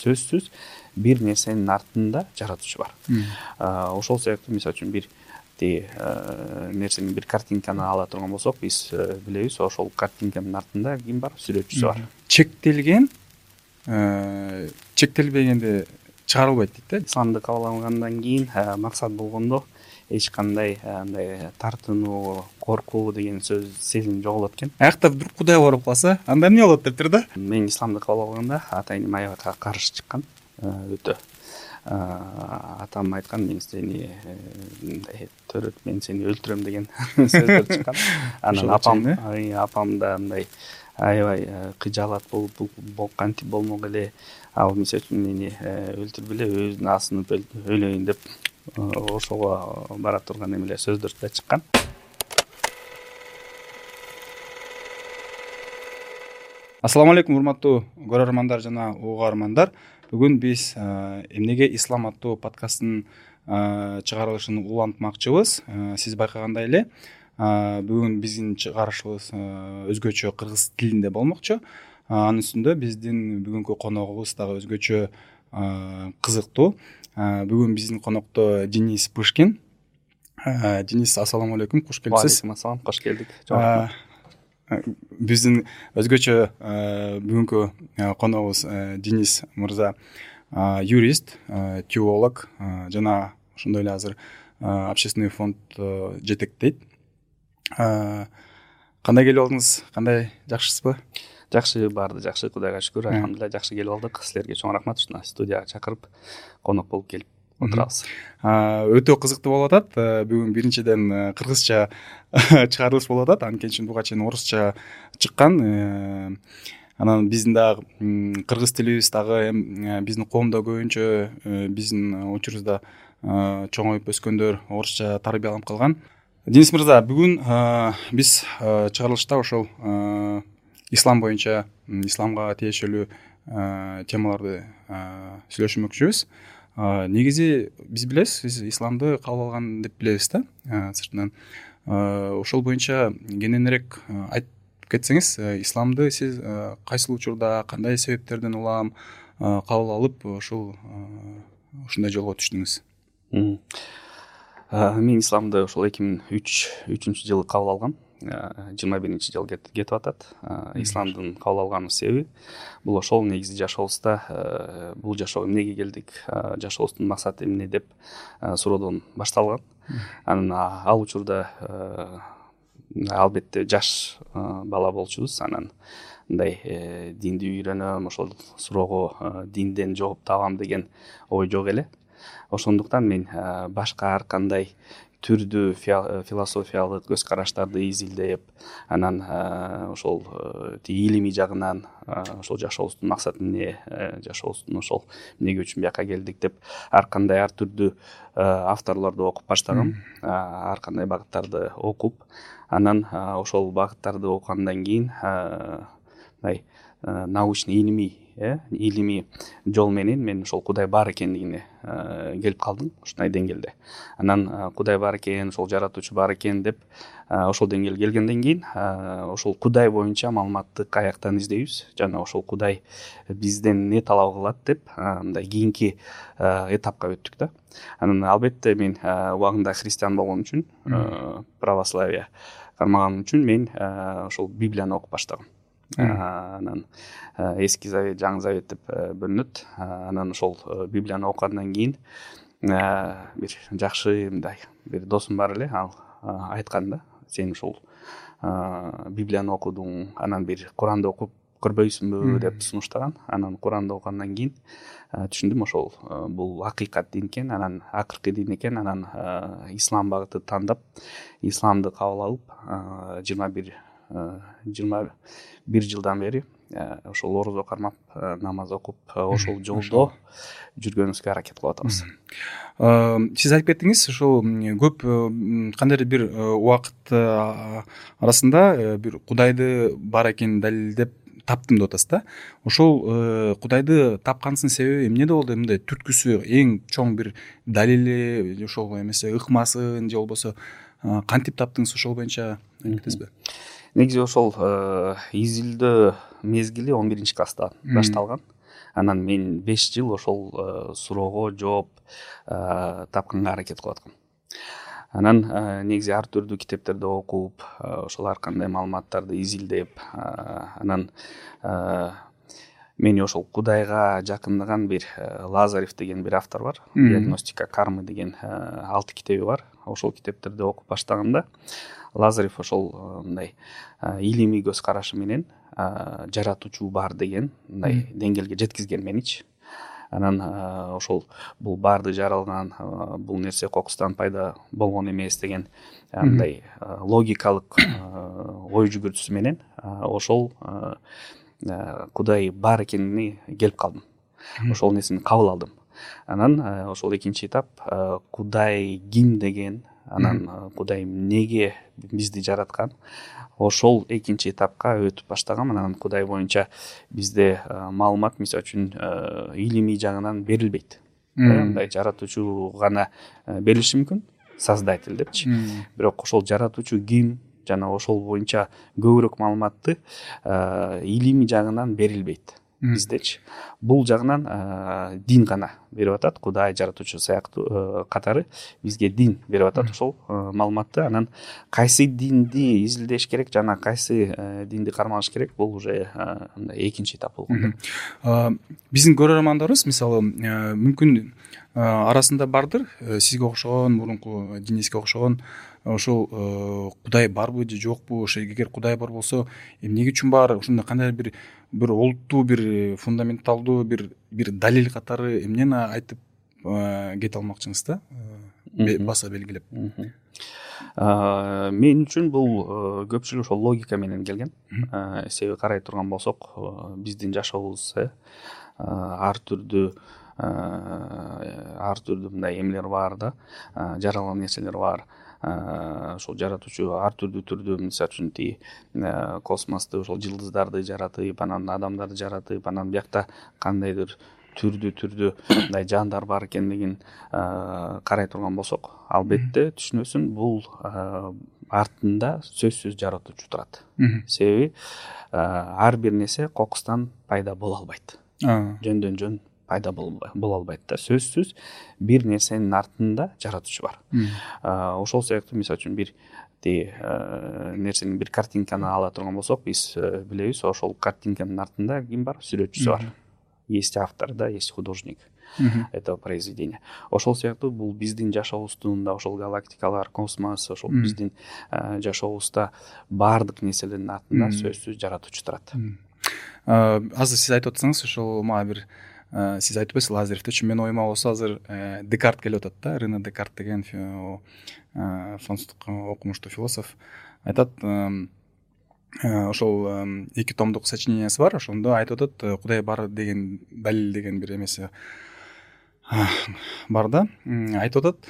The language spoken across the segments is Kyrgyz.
сөзсүз бир нерсенин артында жаратуучу бар. Ошол себептен мисалы үчүн бир нерсени бир картинканы ала турган болсок, биз билебиз, ошол картинканын артында ким бар? Сүрөтчүсү бар. Чектелбегенде чыгарылбайт дейт да. Исламды кабыл алгандан кийин максат болгондо эч кандай андай тартынуу, коркуу деген сөз сезим жоголот экен. Аякта вдруг Кудай барып калса, анда эмне болот дептир да. Мен исламды кабыл алганда атайын аябай каршы чыккан, өтө. Атам айткан, мен сени төрөт, мен сени өлтүрөм деген сөздөр чыккан. Анан апам да мындай аябай кыжаалат болуп кантип болмок эле, ал мисалы үчүн мени өлтүрбүлө, өзүн асынып өлөйүн деп ошого бара турган эмелер сөздөр да чыккан. Ассаламу алейкум, урматтуу көрөрмандар жана угармандар. Бүгүн биз эмнеге ислам аттуу подкасттын чыгарылышын улантмакчыбыз. Сиз байкагандай эле, бүгүн биздин чыгарышыбыз өзгөчө кыргыз тилинде болмокчу. Анын үстүндө биздин бүгүнкү коногубуз дагы өзгөчө кызыктуу. Бүгүн биздин конокто Денис Пышкин. Денис, ассаламу алейкум, куш келипсиз. Алейкум ассалам, кош келдик. Биздин өзгөчө бүгүнкү коногубуз Денис мырза юрист, теолог жана ошондой эле азыр общественный фонд жетектейт. Кандай келип алдыңыз? Кандай, жакшысызбы? Жакшы, баарды жакшы, Кудайга шүгүр, алхамдулилlah, жакшы келип алдык. Силерге чоң рахмат, ушуна студияга чакырып конок болуп келип отурабыз. Өтө кызыктуу болуп атат. Бүгүн биринчиден кыргызча чыгарылыш болуп атат. Анткени үчүн буга чейин орусча чыккан. Анан биздин дагы кыргыз тилибиз дагы биздин коомдо көбүнчө биздин учурубузда чоңоюп өскөндөр орусча тарбияланып калган. Денис мырза, бүгүн биз чыгарылышта ошол ислам боюнча, исламга тиешелүү темаларды сүйлөшмөкчүбүз. Негизи биз билебиз, сиз исламды кабыл алган деп билебиз да, сыртынан. Ошол боюнча кененирээк айтып кетсеңиз, исламды сиз кайсыл учурда, кандай себептерден улам кабыл алып, ушундай жолго түштүңүз? Мен исламды ошол 2003 жылы кабыл алгам. 21 жыл кетип атат. Исламдын кабыл алган себеби бул ошол негизи жашообузда бул жашоого эмнеге келдик, жашообуздун максаты эмне деп суроодон башталган. Анан ал учурда албетте жаш бала болчубуз. Анан мындай динди үйрөнөм, ошол суроого динден жооп табам деген ой жок эле. Ошондуктан мен башка ар кандай түрдүү философиялык көз караштарды изилдеп, анан ошол илимий жагынан ошол жашообуздун максаты эмне, жашообуздун ошол эмнеге үчүн бияка келдик деп ар кандай ар түрдүү авторлорду окуп баштагам. Ар кандай багыттарды окуп, анан ошол багыттарды окугандан кийин мындай научный илимий жол менен мен ошол Кудай бар экендигине келип калдым, ушундай деңгээлде. Анан Кудай бар экен, ошол жаратуучу бар экен деп ошол деңгээлге келгенден кийин ошол Кудай боюнча маалыматты каяктан издейбиз жана ошол Кудай бизден эмне талап кылат деп мындай кийинки этапка өттүк да. Анан албетте мен убагында христиан болгон үчүн, православие кармаган үчүн мен ошол Библияны окуп баштагам. Анан эски завет, жаңы завет деп бөлүнөт. Анан ошол Библияны окугандан кийин бир жакшы мындай бир досум бар эле, ал айткан да, сен ушул Библияны окудуң, анан бир Куранды окуп көрбөйсүңбү деп сунуштаган. Анан Куранды окугандан кийин түшүндүм, ошол бул акыйкат дин экен, анан акыркы дин экен. Анан ислам багыты тандап, исламды кабыл алып 21 жылдан бери ошол орозо кармап, намаз окуп, ошол жолдо жүргөнүбүзгө аракет кылып атабыз. Сиз айтып кеттиңиз, ошол көп кандайдыр бир убакыт арасында бир Кудайды бар экенин далилдеп таптым деп атасыз да. Ошол Кудайды тапкансынын себеби эмнеде болду? Мындай түрткүсү, эң чоң бир далили, ошол эмесе ыкмасын же болбосо кантип таптыңыз, ошол боюнча айтып кетесизби? Негизи ошол изилдөө мезгили 11 класста башталган. анан мен 5 жыл ошол суроого жооп тапканга аракет кылып аткам. Анан негизи ар түрдүү китептерди окуп, ошол ар кандай маалыматтарды изилдеп, анан мени ошол Кудайга жакындаган бир Лазарев деген бир автор бар. Диагностика кармы деген 6 китеби бар. Ошол китептерди окуп баштаганда Лазарев ошол мындай илимий көз карашы менен жаратуучу бар деген мындай деңгээлге жеткизген меничи. Анан ошол бул баарды жаралган, бул нерсе кокустан пайда болгон эмес деген мындай логикалык ой жүгүртүүсү менен ошол Кудай бар экенине келип калдым. Ошол нерсени кабыл алдым. Анан ошол экинчи этап Кудай ким деген, анан Кудай эмнеге бизди жараткан, ошол экинчи этапка өтүп баштагам. Анан Кудай боюнча бизде маалымат мисалы үчүн илимий жагынан берилбейт. Мындай жаратуучу гана берилиши мүмкүн, создатель депчи. Бирок ошол жаратуучу ким жана ошол боюнча көбүрөөк маалыматты илимий жагынан берилбейт биздечи. Бул жагынан дин гана берип атат. Кудай жаратуучу сыяктуу катары бизге дин берип атат ошол маалыматты. Анан кайсы динди изилдеш керек жана кайсы динди кармалыш керек, бул уже экинчи этап болгон. Биздин көрөрмандарыбыз мисалы мүмкүн арасында бардыр сизге окшогон, мурунку Дениске окшогон ошол Кудай барбы же жокпу, ошо эгер Кудай бар болсо эмне үчүн бар, ошондой кандай бир олуттуу, бир фундаменталдуу бир далил катары эмнени айтып кете алмакчысыңыз да, баса белгилеп? Мен үчүн бул көпчүлүк ошол логика менен келген. Себеби карай турган болсок, биздин жашообуз ар түрдүү мындай эмелер бар да, жаралган нерселер бар. Ошол жаратуучу ар түрдүү түрдүү, мисалы үчүн космосту, ошол жылдыздарды жаратып, анан адамдарды жаратып, анан биякта кандайдыр түрдүү мындай жандар бар экендигин карай турган болсок, албетте түшүнөсүң, бул артында сөзсүз жаратуучу турат. Себеби ар бир нерсе кокустан пайда боло албайт. Жөндөн жөн пайда боло албайт да. Сөзсүз бир нерсенин артында жаратуучу бар. Ошол себептен мисалы үчүн бир нерсенин бир картинканы ала турган болсок, биз билебиз, ошол картинканын артында ким бар? Сүрөтчүсү бар. Есть автор, да, есть художник этого произведения. Ошол себептүү бул биздин жашообуздун да, ошол галактикалар, космос, ошол биздин жашообузда баардык нерселердин артында сөзсүз жаратуучу турат. Азыр сиз айтып атсаңыз, ошол мага бир сиз айтып атасыз Лазаревти, менин оюма болсо азыр Декарт келип атат да, Рене Декарт деген француздук окумуштуу философ айтат, ошол 2 томдук сочинениясы бар, ошондо айтып атат, Кудай бар деген далил деген бир эмеси бар да, айтып атат,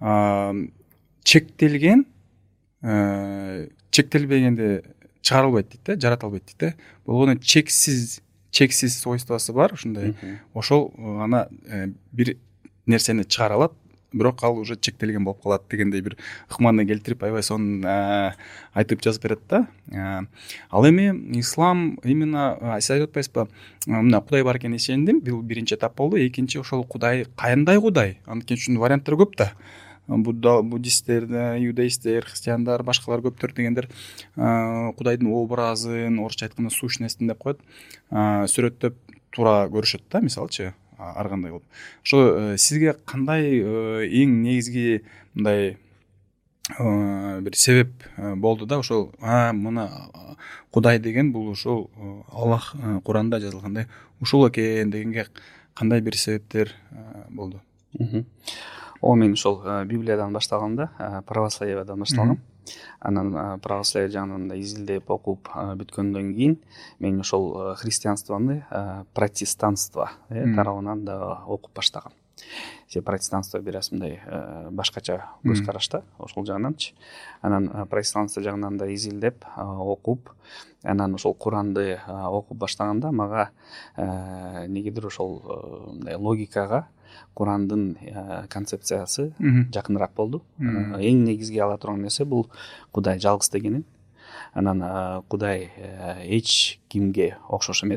чектелбегенде чыгарылбайт дейт да, жарата албайт дейт да. Болгону чексиз свойствосы бар, ушундай. Ошол гана бир нерсени чыгара алат, бирок ал уже чектелген болуп калат дегендей бир ыкманы келтирип, аябай сонун айтып жазып берет да. Ал эми ислам именно сиз айтып атпайсызбы, мына Кудай бар экенине ишендим, бул биринчи этап болду. Экинчи ошол Кудай кандай Кудай? Анткени үчүн варианттар көп да. Буддисттер, иудаисттер, христиандар, башкалар көптөр дегендер Кудайдын образын, орусча айтканда сущностин деп коет, сүрөттөп туура көрүшөт да, мисалычы, ар кандай кылып. Ошо сизге кандай эң негизги мындай бир себеп болду да, ошол мына Кудай деген бул ошол Аллах Куранда жазылгандай ушул экен дегенге кандай бир себептер болду? Мен ошол Библиядан башталганда, православиядан башталгам. Анан православие жагынан да изилдеп окуп бүткөндөн кийин мен ошол христианствону протестанство тарабынан да окуп баштагам. Протестанство бир аз мындай башкача көз карашта ошол жагынанчы. Анан протестанство жагынан да изилдеп окуп, анан ошол Куранды окуп баштаганда мага негедир ошол мындай логикага Курандын концепциясы жакыныраак болду. Эң негизги ала турган нерсе бул Кудай жалгыз дегенин. Анан Кудай эч кимге окшош эмес.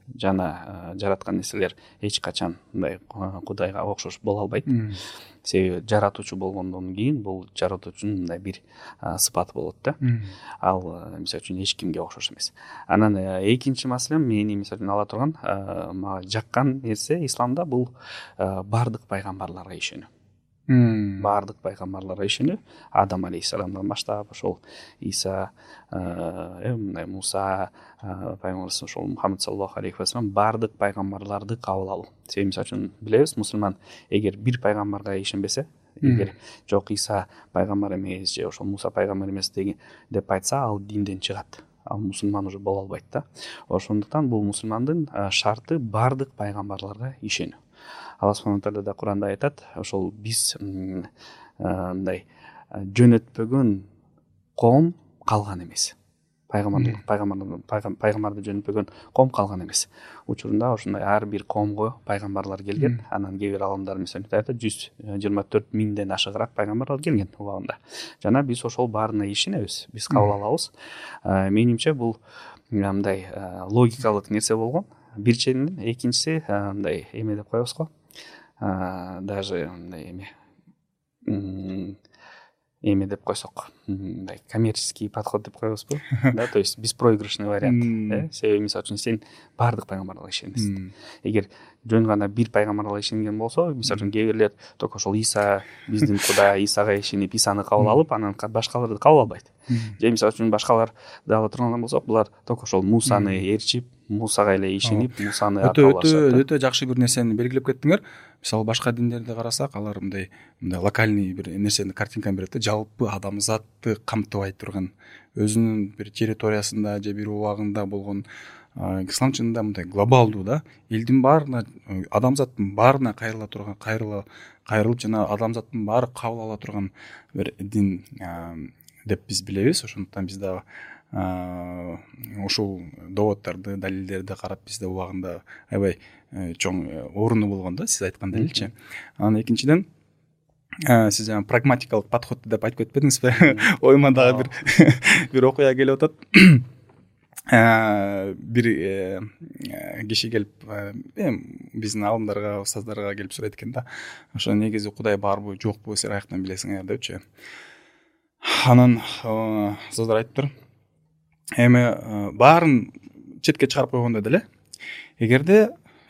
жана жараткан нерселер эч качан мындай Кудайга окшош боло албайт. Себеби жаратуучу болгондон кийин бул жаратуучунун мындай бир сыпаты болот да. Ал мисалы үчүн эч кимге окшош эмес. Анан экинчи маселем мени мисалы үчүн ала турган мага жаккан нерсе исламда бул баардык пайгамбарларга ишенүү. Баардык пайгамбарларга ишенүү, Адам алейхисаламдан баштап ошол Иса, мындай Муса пайгамбарыбыз, ошол Мухаммад саллаллаху алейхи вассалам баардык пайгамбарларды кабыл алуу. Себеби мисалы үчүн билебиз, мусулман эгер бир пайгамбарга ишенбесе, эгер жок Иса пайгамбар эмес же ошол Муса пайгамбар эмес деп айтса, ал динден чыгат. Ал мусулман уже боло албайт да. Ошондуктан бул мусулмандын шарты баардык пайгамбарларга ишенүү. Алла субхана тааля да Куранда айтат, ошол биз мындай жөнөтпөгөн коом калган эмес. Пайгамбарды жөнөтпөгөн коом калган эмес. Учурунда ошондой ар бир коомго пайгамбарлар келген. Анан кээ бир аламдар мисалы айтат, 124 миңден ашыгыраак пайгамбарлар келген убагында. Жана биз ошол баарына ишенебиз, биз кабыл алабыз. Менимче бул мындай логикалык нерсе болгон. Бирчиден, экинчиси мындай эме деп коебуз го. Даже мындай эме деп койсок, мындай коммерческий подход деп коебузбу? Да, то есть беспроигрышный вариант. Себеби мисалы үчүн сен баардык пайгамбарга ишенесиң. Эгер жөн гана бир пайгамбарга ишенген болсо, мисалы үчүн кээ бирлер только ошол Иса биздин Кудай, Исага ишенип, Исаны кабыл алып, анан башкаларды кабыл албайт. Же мисалы үчүн башкаларды ала турган болсок, булар только ошол Мусаны ээрчип, Мусага эле ишенип, Мусаны кабыл алышат. Өтө жакшы бир нерсени белгилеп кеттиңер. Мисалы башка диндерди карасак, алар мындай локальный бир нерсени картинканы берет да, жалпы адамзатты камтыбай турган, өзүнүн бир территориясында же бир убагында болгон. Ислам чынында мындай глобалдуу да, элдин баарына, адамзаттын баарына кайрылып жана адамзаттын баары кабыл ала турган бир дин деп биз билебиз. Ошондуктан биз дагы ушул доводдорду, далилдерди карап биз да убагында аябай чоң оруну болгон да, сиз айткан далилчи. Анан экинчиден, сиз жана прагматикалык подходду деп айтып кетпедиңизби? Оюма дагы бир окуя келип атат. Бир киши келип, биздин алымдарга, устаздарга келип сурайт экен да. Ошо негизи Кудай барбы, жокпу, силер каяктан билесиңер депчи. Анан устаздар айтыптыр, эми баарын четке чыгарып койгондо деле, эгерде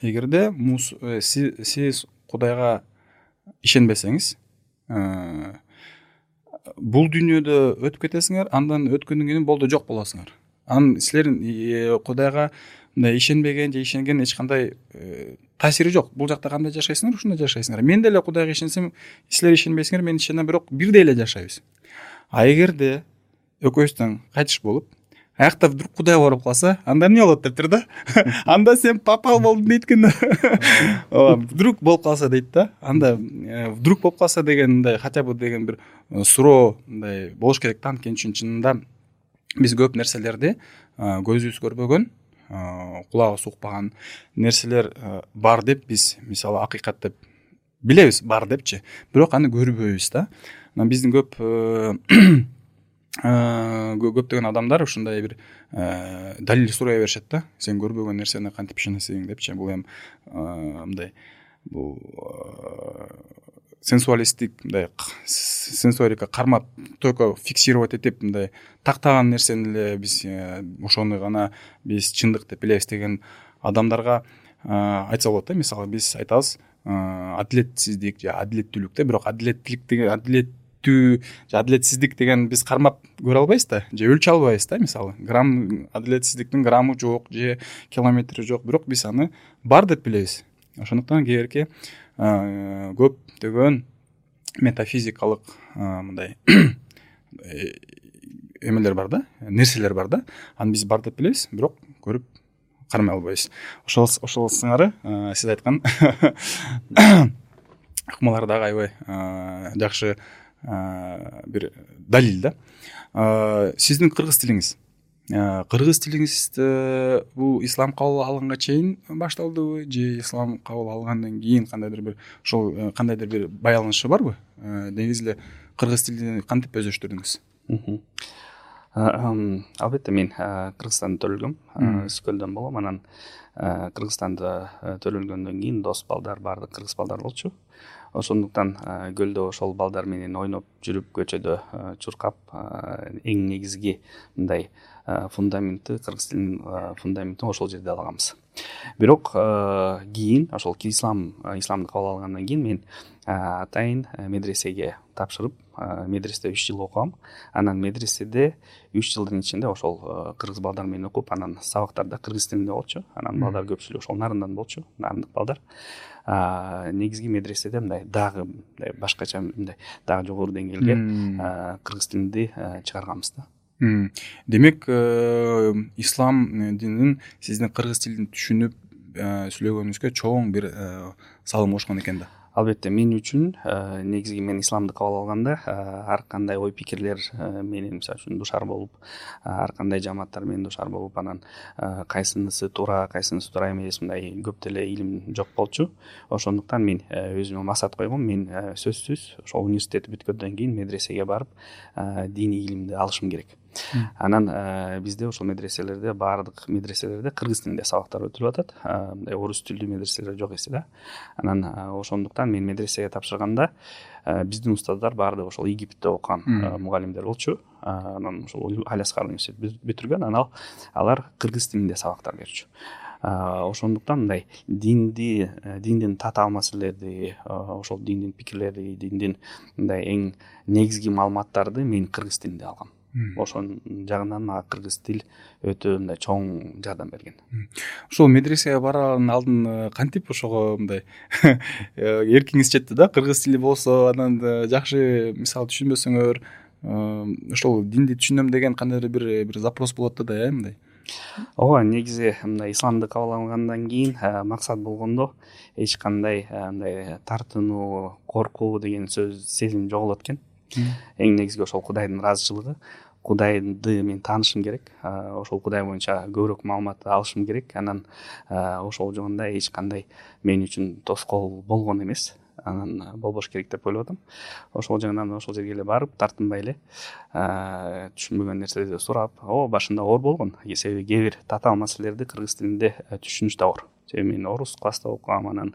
сиз Кудайга ишенбесеңиз, бул дүйнөдө өтүп кетесиңер, андан өткөндөн кийин болду жок болосуңар. Анан силердин Кудайга мындай ишенбеген же ишенген эч кандай таасири жок. Бул жакта кандай жашайсыңар, ушундай жашайсыңар. Мен деле Кудайга ишенсем, силер ишенбейсиңер, мен ишенем, бирок бирдей эле жашайбыз. А эгерде экөөбүздөн кайтыш болуп, аякта вдруг Кудай барып калса, анда эмне болот дептир да? Анда сен попал болдуң дейт экен. Вдруг болуп калса дейт да. Анда вдруг болуп калса деген мындай хотя бы деген бир суроо мындай болуш керек да. Анткени чынында биз көп нерселерди көзүбүз көрбөгөн, кулагыбыз укпаган нерселер бар деп биз мисалы акыйкат деп билебиз, бар депчи. Бирок аны көрбөйбүз да. Биздин көптөгөн адамдар ушундай бир далил сурай беришет да. Сен көрбөгөн нерсени кантип ишенесиң депчи. Бул эми мындай бул сенсуалистик, мындай сенсорика кармап только фиксировать этип мындай тактаган нерсени эле биз ошону гана биз чындык деп билебиз деген адамдарга айтса болот да. Мисалы биз айтабыз адилетсиздик же адилеттүүлүк да, бирок адилеттүүлүк деген адилетсиздик деген биз кармап көрө албайбыз да, же өлчө албайбыз да. Мисалы грамм адилетсиздиктин граммы жок же километри жок, бирок биз аны бар деп билебиз. Ошондуктан кээерки көптөгөн метафизикалык мындай эмелер бар да, нерселер бар да. Аны биз бар деп билебиз, бирок көрүп кармай албайбыз. Ошол сыңары сиз айткан ыкмалар дагы аябай жакшы бир далил да. Сиздин кыргыз тилиңиз бул ислам кабыл алганга чейин башталдыбы же ислам кабыл алгандан кийин кандайдыр бир ошол кандайдыр бир байланышы барбы? Негизи эле кыргыз тилин кантип өздөштүрдүңүз? Албетте мен Кыргызстанда төрөлгөм. Өскөлдөн болгом, анан Кыргызстанда төрөлгөндөн кийин дос балдар, баардык кыргыз балдар болчу. Ошондуктан көлдө ошол балдар менен ойноп жүрүп, көчөдө чуркап, эң негизги мындай фундаменти, кыргыз тилинин фундаментин ошол жерде алганбыз. Бирок кийин ошол исламды кабыл алгандан кийин мен атайын медресеге тапшырып, медреседе 3 жыл окугам. Анан медреседе 3 жылдын ичинде ошол кыргыз балдар менен окуп, анан сабактарда кыргыз тилинде болчу. Анан балдар көпчүлүгү ошол нарындан болчу, нарындык балдар. Негизги медреседе мындай дагы башкача мындай дагы жогору деңгээлге кыргыз тилинди чыгарганбыз да. Демек, ислам динин сиздин кыргыз тилин түшүнүп сүйлөгөнүңүзгө чоң бир салым кошкон экен да. Албетте, мен үчүн негизги мен исламды кабыл алганда ар кандай ой пикирлер менен мисалы үчүн душар болуп, ар кандай жамааттар менен душар болуп, анан кайсынысы туура, кайсынысы туура эмес, мындай көп деле илим жок болчу. Ошондуктан мен өзүмө максат койгом, мен сөзсүз ошол университет бүткөндөн кийин медресеге барып диний илимди алышым керек. Анан бизде ошол медреселерде, баардык медреселерде кыргыз тилинде сабактар өтүлүп атат. Мындай орус тилдүү медреселер жок эси да. Анан ошондуктан мен медресеге тапшырганда биздин устаздар баардыгы ошол Египетте окуган мугалимдер болчу. Анан ошол Аль-Азхар университетин бүтүргөн, анан алар кыргыз тилинде сабактар берчү. Ошондуктан мындай диндин татаал маселелерди, ошол диндин пикирлери, диндин мындай эң негизги маалыматтарды мен кыргыз тилинде алгам. Ошон жагынан мага кыргыз тил өтө мындай чоң жардам берген. Ошол медресеге бараардын алдын кантип ошого мындай эркиңиз жетти да? Кыргыз тили болсо, анан жакшы мисалы түшүнбөсөңөр, ошол динди түшүнөм деген кандайдыр бир запрос болот да, мындай. Ооба, негизи мындай исламды кабыл алгандан кийин максат болгондо эч кандай мындай тартынуу, коркуу деген сезим жоголот экен. Эң негизги ошол Кудайдын ыраазычылыгы. Кудайды мен таанышым керек, ошол Кудай боюнча көбүрөөк маалымат алышым керек. Анан ошол жагында эч кандай мен үчүн тоскоол болгон эмес. Анан болбош керек деп ойлоп атам. Ошол жагынан ошол жерге эле барып, тартынбай эле түшүнбөгөн нерселерди сурап, башында оор болгон. Себеби кээ бир татаал маселелерди кыргыз тилинде түшүнүш да оор. Себеби мен орус класста окугам, анан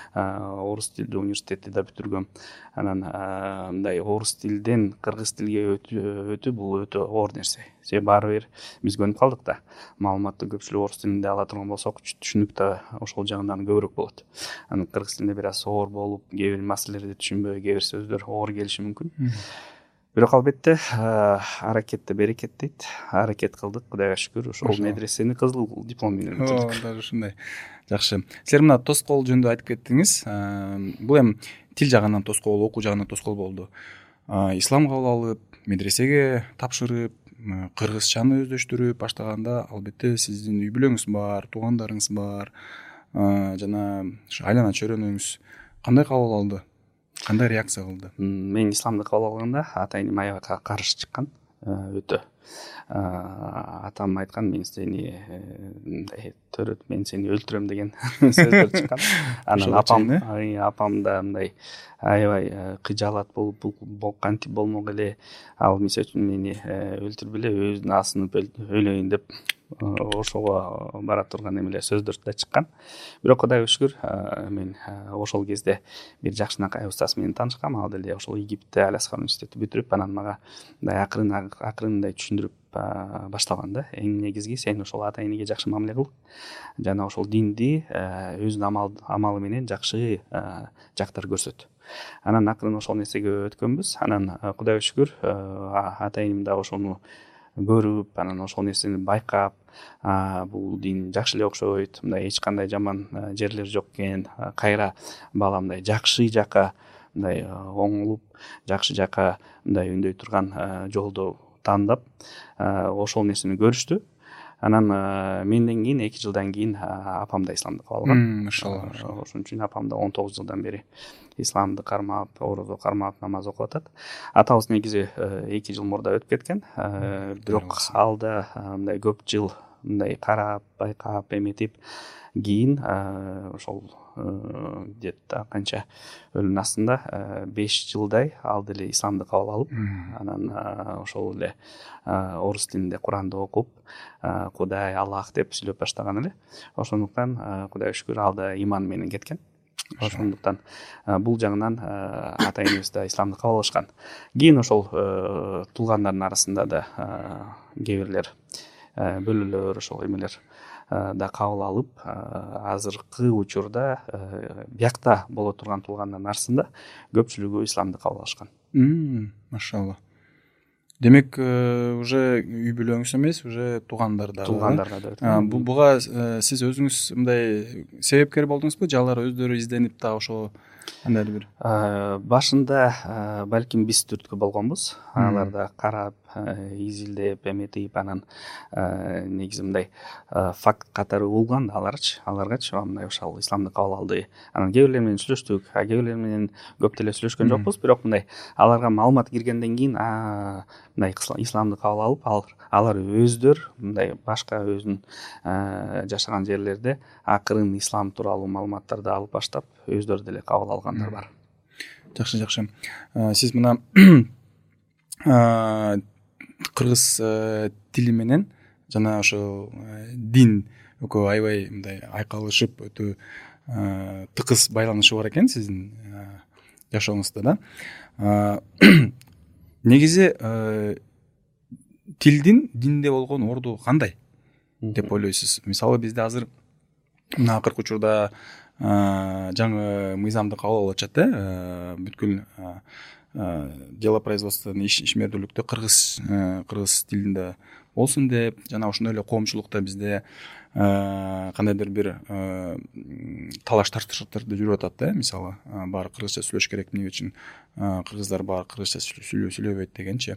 орус тилдүү университетти да бүтүргөм. Анан мындай орус тилден кыргыз тилге өтүү бул өтө оор нерсе. Себеби баары бир биз көнүп калдык да. Маалыматты көпчүлүк орус тилинде ала турган болсок, түшүнүк да ошол жагынан көбүрөөк болот. Анан кыргыз тилинде бир аз оор болуп, кээ бир маселелерди түшүнбөй, кээ бир сөздөр оор келиши мүмкүн. Бирок албетте аракетте берекет дейт. Аракет кылдык, Кудайга шүкүр, ошол медресени кызыл диплом менен бүтүрдүк. Даже ушундай. Жакшы. Силер мына тоскоол жөнүндө айтып кеттиңиз. Бул эми тил жагынан тоскоол, окуу жагынан тоскоол болду. Ислам кабыл алып, медресеге тапшырып, кыргызчаны өздөштүрүп баштаганда албетте сиздин үй бүлөңүз бар, туугандарыңыз бар, жана айлана чөйрөнүңүз кандай кабыл алды? Кандай реакция кылды? Мен исламды кабыл алганда атайыным аябай каршы чыккан, өтө. Атам айткан, мен сени төрөт, мен сени өлтүрөм деген сөздөр чыккан. Анан апам да мындай аябай кыжаалат болуп, бул кантип болмок эле, ал мисалы үчүн мени өлтүрбөлө, өзүн асынып өлөйүн деп ошого бара турган эмеле сөздөр да чыккан. Бирок Кудайга шүкүр, мен ошол кезде бир жакшынакай устаз менен таанышкам. Ал деле ошол Египетте Аль-Азхар университетти бүтүрүп, анан мага мындай акырындай түшүндүрүп башталган да. Эң негизги сен ошол ата энеге жакшы мамиле кыл, жана ошол динди өзүнүн амалы менен жакшы жактар көрсөт. Анан акырын ошол нерсеге өткөнбүз. Анан Кудайга шүкүр, ата энем да ошону көрүп, анан ошол нерсени байкап, бул дин жакшы эле окшойт, мындай эч кандай жаман жерлер жок экен, кайра бала мындай жакшы жака мындай оңолуп, жакшы жака мындай үндөй турган жолду тандап, ошол нерсени көрүштү. Анан менден кийин 2 жылдан кийин апам да исламды кабыл алган. Машалла. Ошон үчүн апам да 19 жылдан бери исламды кармап, орозо кармап, намаз окуп атат. Атабыз негизи 2 жыл мурда өтүп кеткен. Бирок алда мындай көп жыл мындай карап байкап эметип кийин ошол где-то канча өлүмүнүн астында 5 жылдай ал деле исламды кабыл алып, анан ошол эле орус тилинде Куранды окуп, Кудай, Аллах деп сүйлөп баштаган эле. Ошондуктан Кудайга шүкүр ал да иман менен кеткен. Ошондуктан бул жагынан ата энебиз да исламды кабыл алышкан. Кийин ошол туулгандардын арасында да кээ бирлер бөлөлөр ошол эмелер да кабыл алып, азыркы учурда биякта боло турган туулгандардын арасында көпчүлүгү исламды кабыл алышкан. Машалла. Демек, уже үй бүлөңүз эмес, уже туугандарда. Туугандарда. Буга сиз өзүңүз мындай себепкер болдуңузбу же алар өздөрү изденип да ошо кандайдыр бир? Башында балким биз түрткү болгонбуз. Алар да карап, изилдеп, эметип, анан негизи мындай факт катары улган аларгачы мындай ошол исламды кабыл алды. Анан кээ бирлер менен сүйлөштүк, кээ бирлер менен көп деле сүйлөшкөн жокпуз, бирок мындай аларга маалымат киргенден кийин мындай исламды кабыл алып, алар өздөр мындай башка өзүнүн жашаган жерлерде акырын ислам тууралуу маалыматтарды алып баштап, өздөрү деле кабыл алгандар бар. Жакшы. Сиз мына кыргыз тили менен жана ошо дин экөө аябай мындай айкалышып, өтө тыкыз байланышы бар экен сиздин жашооңузда да. Негизи тилдин динде болгон орду кандай деп ойлойсуз? Мисалы бизде азыр мына акыркы учурда жаңы мыйзамды кабыл алып атышат, бүткүл делопроизводстводон ишмердүүлүктө кыргыз тилинде болсун деп, жана ошондой эле коомчулукта бизде кандайдыр бир талаш тартыштарды жүрүп атат, мисалы баары кыргызча сүйлөш керек, эмне үчүн кыргыздар баары кыргызча сүйлөбөйт дегенчи.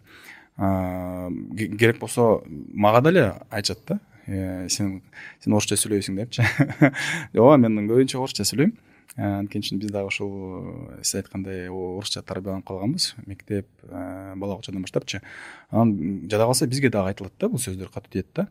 Керек болсо мага деле айтышат да, сен орусча сүйлөйсүң депчи. Ооба, мен көбүнчө орусча сүйлөйм. Анткени үчүн биз дагы ушул сиз айткандай орусча тарбияланып калганбыз, мектеп, бала бакчадан баштапчы. Анан жада калса бизге дагы айтылат да, бул сөздөр катуу тиет да.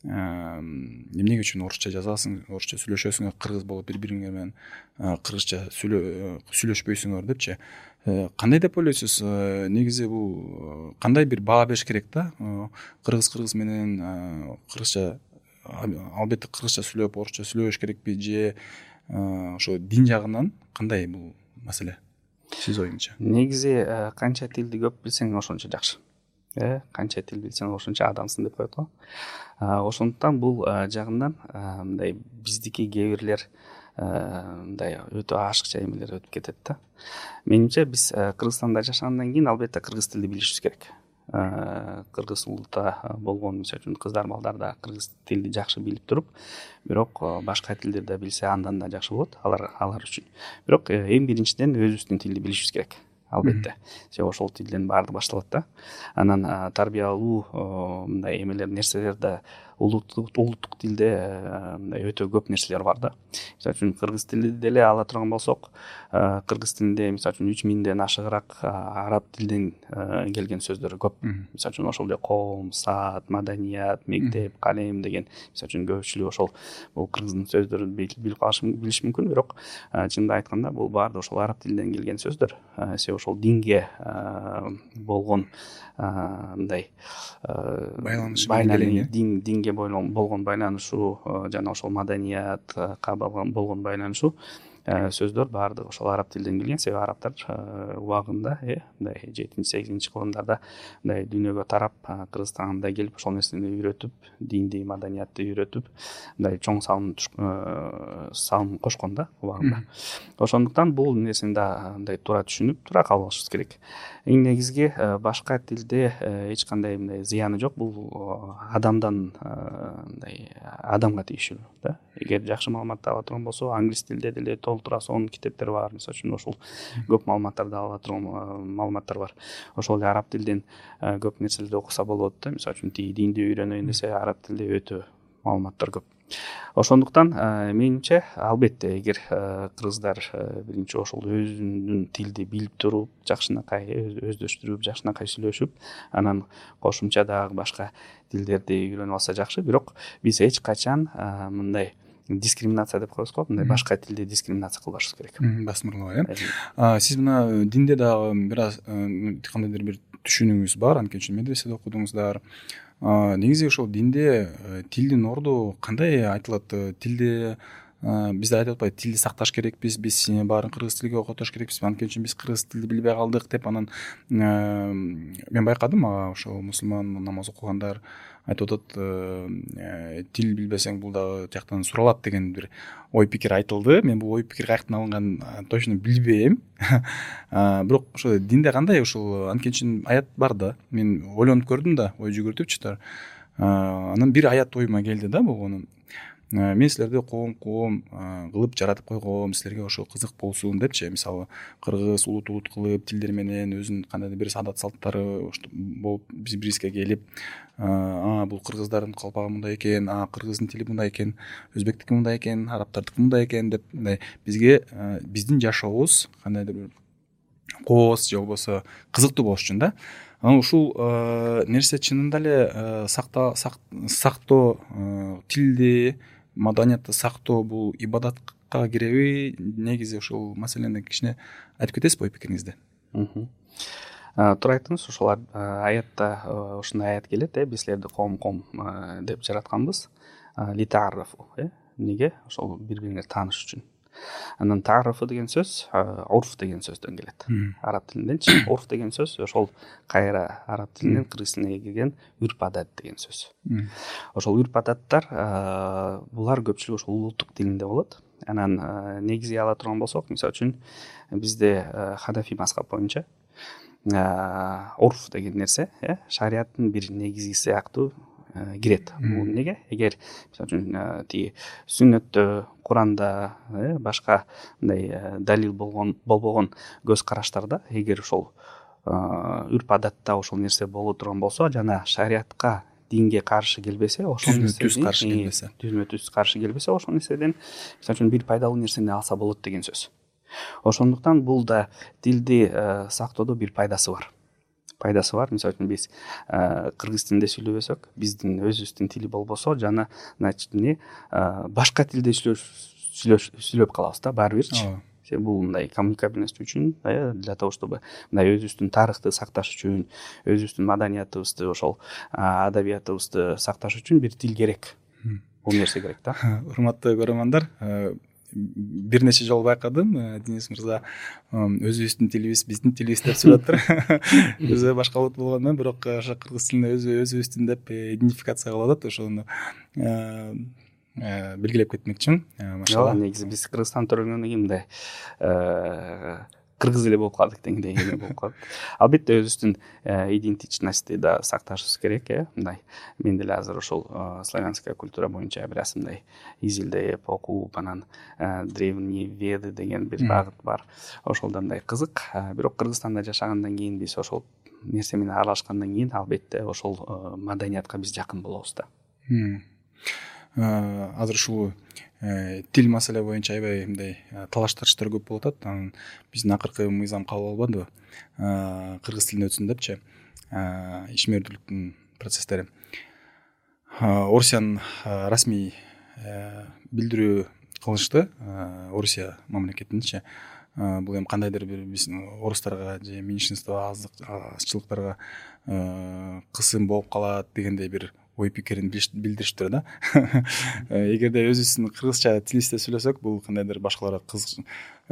Эмнеге үчүн орусча жазасың, орусча сүйлөшөсүң, кыргыз болуп бири-бириңер менен кыргызча сүйлөшпөйсүңөр депчи. Кандай деп ойлойсуз? Негизи бул кандай бир баа бериш керек да? Кыргыз менен кыргызча, албетте кыргызча сүйлөп, орусча сүйлөбөш керекпи же ошо дин жагынан кандай бул маселе? Сиз оюңузча. Негизи канча тилди көп билсең ошончо жакшы. Канча тил билсең ошончо адамсың деп коет го. Ошондуктан бул жагынан мындай биздики кээ бирлер мындай өтө ашыкча эмелер өтүп кетет да. Менимче биз Кыргызстанда жашагандан кийин албетте кыргыз тилди билишибиз керек. Кыргыз улута болгон, мисалы үчүн кыздар балдар да кыргыз тилди жакшы билип туруп, бирок башка тилдерди билсе андан да жакшы болот алар үчүн. Бирок эң биринчиден өзүбүздүн тилди билишибиз керек. Албетте. Себеби ошол тилден баардыгы башталат да. Анан тарбиялуу мындай эмелер, нерселер да улуттук тилде мындай өтө көп нерселер бар да. Мисалы үчүн кыргыз тилди деле ала турган болсок, кыргыз тилинде мисалы үчүн 3000ден ашыгыраак араб тилден келген сөздөр көп. Мисалы үчүн ошол эле коом, саат, маданият, мектеп, калем деген мисалы үчүн көпчүлүк ошол бул кыргыздын сөздөрүн билип билиш мүмкүн, бирок чынында айтканда бул баардыгы ошол араб тилинен келген сөздөр. Себеби ошол динге болгон мындай байланыш, динге болгон байланышуу жана ошол маданиятка болгон байланышуу сөздөр баардыгы ошол араб тилден келген. Себеби арабтар убагында мындай 7-8 кылымдарда мындай дүйнөгө тарап, Кыргызстанга келип ошол нерсени үйрөтүп, динди, маданиятты үйрөтүп, мындай чоң салым кошкон да убагында. Ошондуктан бул нерсени да мындай туура түшүнүп, туура кабыл алышыбыз керек. Эң негизги башка тилде эч кандай мындай зыяны жок. Бул мындай адамга тийиштүү да. Эгер жакшы маалымат ала турган болсо, англис тилде деле толтура сонун китептер бар. Мисалы үчүн ошол көп маалыматтарды ала турган маалыматтар бар. Ошол эле араб тилден көп нерселерди окуса болот да. Мисалы үчүн динди үйрөнөйүн десе, араб тилде өтө маалыматтар көп. Ошондуктан менимче албетте эгер кыргыздар биринчи ошол өзүнүн тилди билип туруп жакшынакай өздөштүрүп жакшынакай сүйлөшүп анан кошумча дагы башка тилдерди үйрөнүп алса жакшы. Бирок биз эч качан мындай дискриминация деп коебуз го, мындай башка тилде дискриминация кылбашыбыз керек. Басмырлоо сиз мына динде дагы бир аз кандайдыр бир түшүнүгүңүз бар, анткени үчүн медреседе окудуңуздар. Негизи ошол динде тилдин орду кандай айтылат? Тилде бизде айтып атпайбы, тилди сакташ керекпиз, биз баарын кыргыз тилиге окутуш керекпиз, анткени үчүн биз кыргыз тилди билбей калдык деп. Анан мен байкадым, ошол мусулман намаз окугандар айтып атат, тил билбесең бул дагы тияктан суралат деген бир ой пикир айтылды. Мен бул ой пикир каяктан алынганын точно билбейм. Бирок ошо динде кандай ошол, анткени үчүн аят бар да. Мен ойлонуп көрдүм да, ой жүгүртүпчү. Анан бир аят оюма келди да болгону. Мен силерди коом кылып жаратып койгом, силерге ошо кызык болсун депчи. Мисалы, кыргыз улут кылып тилдери менен өзүнүн кандайдыр бир адат салттары болуп биз-бирибизге келип, бул кыргыздардын калпагы мындай экен, кыргыздын тили мындай экен, өзбектики мындай экен, арабтардыкы мындай экен деп, мындай бизге биздин жашообуз кандайдыр бир кооз же болбосо кызыктуу болуш үчүн да. Анан ушул нерсе чынында эле сактоо, тилди, маданиятты сактоо бул ибадатка киреби? Негизи ушул маселени кичине айтып кетесизби ой пикириңизди? Туура айттыңыз. Ошол аятта ушундай аят келет, биз силерди коом деп жаратканбыз. Литаарафу, эмнеге? Ошол бири бириңерди тааныш үчүн. Анан таарафу деген сөз урф деген сөздөн келет. Араб тилинденчи. Урф деген сөз ошол кайра араб тилинен кыргыз тилине кирген үрп адат деген сөз. Ошол үрп адаттар булар көпчүлүгү ошол улуттук тилинде болот. Анан негизги ала турган болсок, мисалы үчүн бизде ханафи мазхаб боюнча урф деген нерсе шариаттын бир негизги сыяктуу кирет. Бул эмнеге? Эгер мисалы үчүн тиги сүннөттө, Куранда, башка мындай далил болбогон көз караштарда эгер ошол үрп адатта ошол нерсе боло турган болсо жана шариатка, динге каршы келбесе, ошол түз каршы келбесе, ошол нерседен мисалы үчүн бир пайдалуу нерсени алса болот деген сөз. Ошондуктан бул да тилди сактоодо бир пайдасы бар. Мисалы үчүн биз кыргыз тилинде сүйлөбөсөк, биздин өзүбүздүн тили болбосо, жана башка тилде сүйлөп калабыз да баары бирчи. Бул мындай коммуникабельность үчүн, для того чтобы мындай өзүбүздүн тарыхты сакташ үчүн, өзүбүздүн маданиятыбызды, ошол адабиятыбызды сакташ үчүн бир тил керек. Бул нерсе керек да. Урматтуу көрөрмандар, бир нече жолу байкадым, Денис мырза өзүбүздүн тилибиз, биздин тилибиз деп сүйлөп атат. Өзү башка улут болгондон, бирок ошо кыргыз тилинде өзүбүздүн деп идентификация кылып атат. Ошону белгилеп кетмекчимин. Машалла. Негизи биз Кыргызстанды төрөлгөндөн кийин мындай кыргыз эле болуп калдык дегендей болуп калат. Албетте өзүбүздүн идентичностьти да сакташыбыз керек, мындай. Мен деле азыр ошол славянская культура боюнча бир аз мындай изилдеп, окуп, анан древние веды деген бир багыт бар. Ошолдон мындай кызык. Бирок Кыргызстанда жашагандан кийин, биз ошол нерсе менен аралашкандан кийин албетте ошол маданиятка биз жакын болобуз да. Азыр ушул тил маселе боюнча аябай мындай талаш тартыштар көп болуп атат. Анан биздин акыркы мыйзам кабыл албадыбы? Кыргыз тилинде өтсүн депчи. Ишмердүүлүктүн процесстери. Орусиянын расмий билдирүү кылышты. Орусия мамлекетинчи. Бул эми кандайдыр бир биздин орустарга же меньшинство азчылыктарга кысым болуп калат дегендей бир ой пикирин билдириштир да. Эгерде өзүбүздүн кыргызча тилибизде сүйлөсөк, бул кандайдыр башкаларга кызык.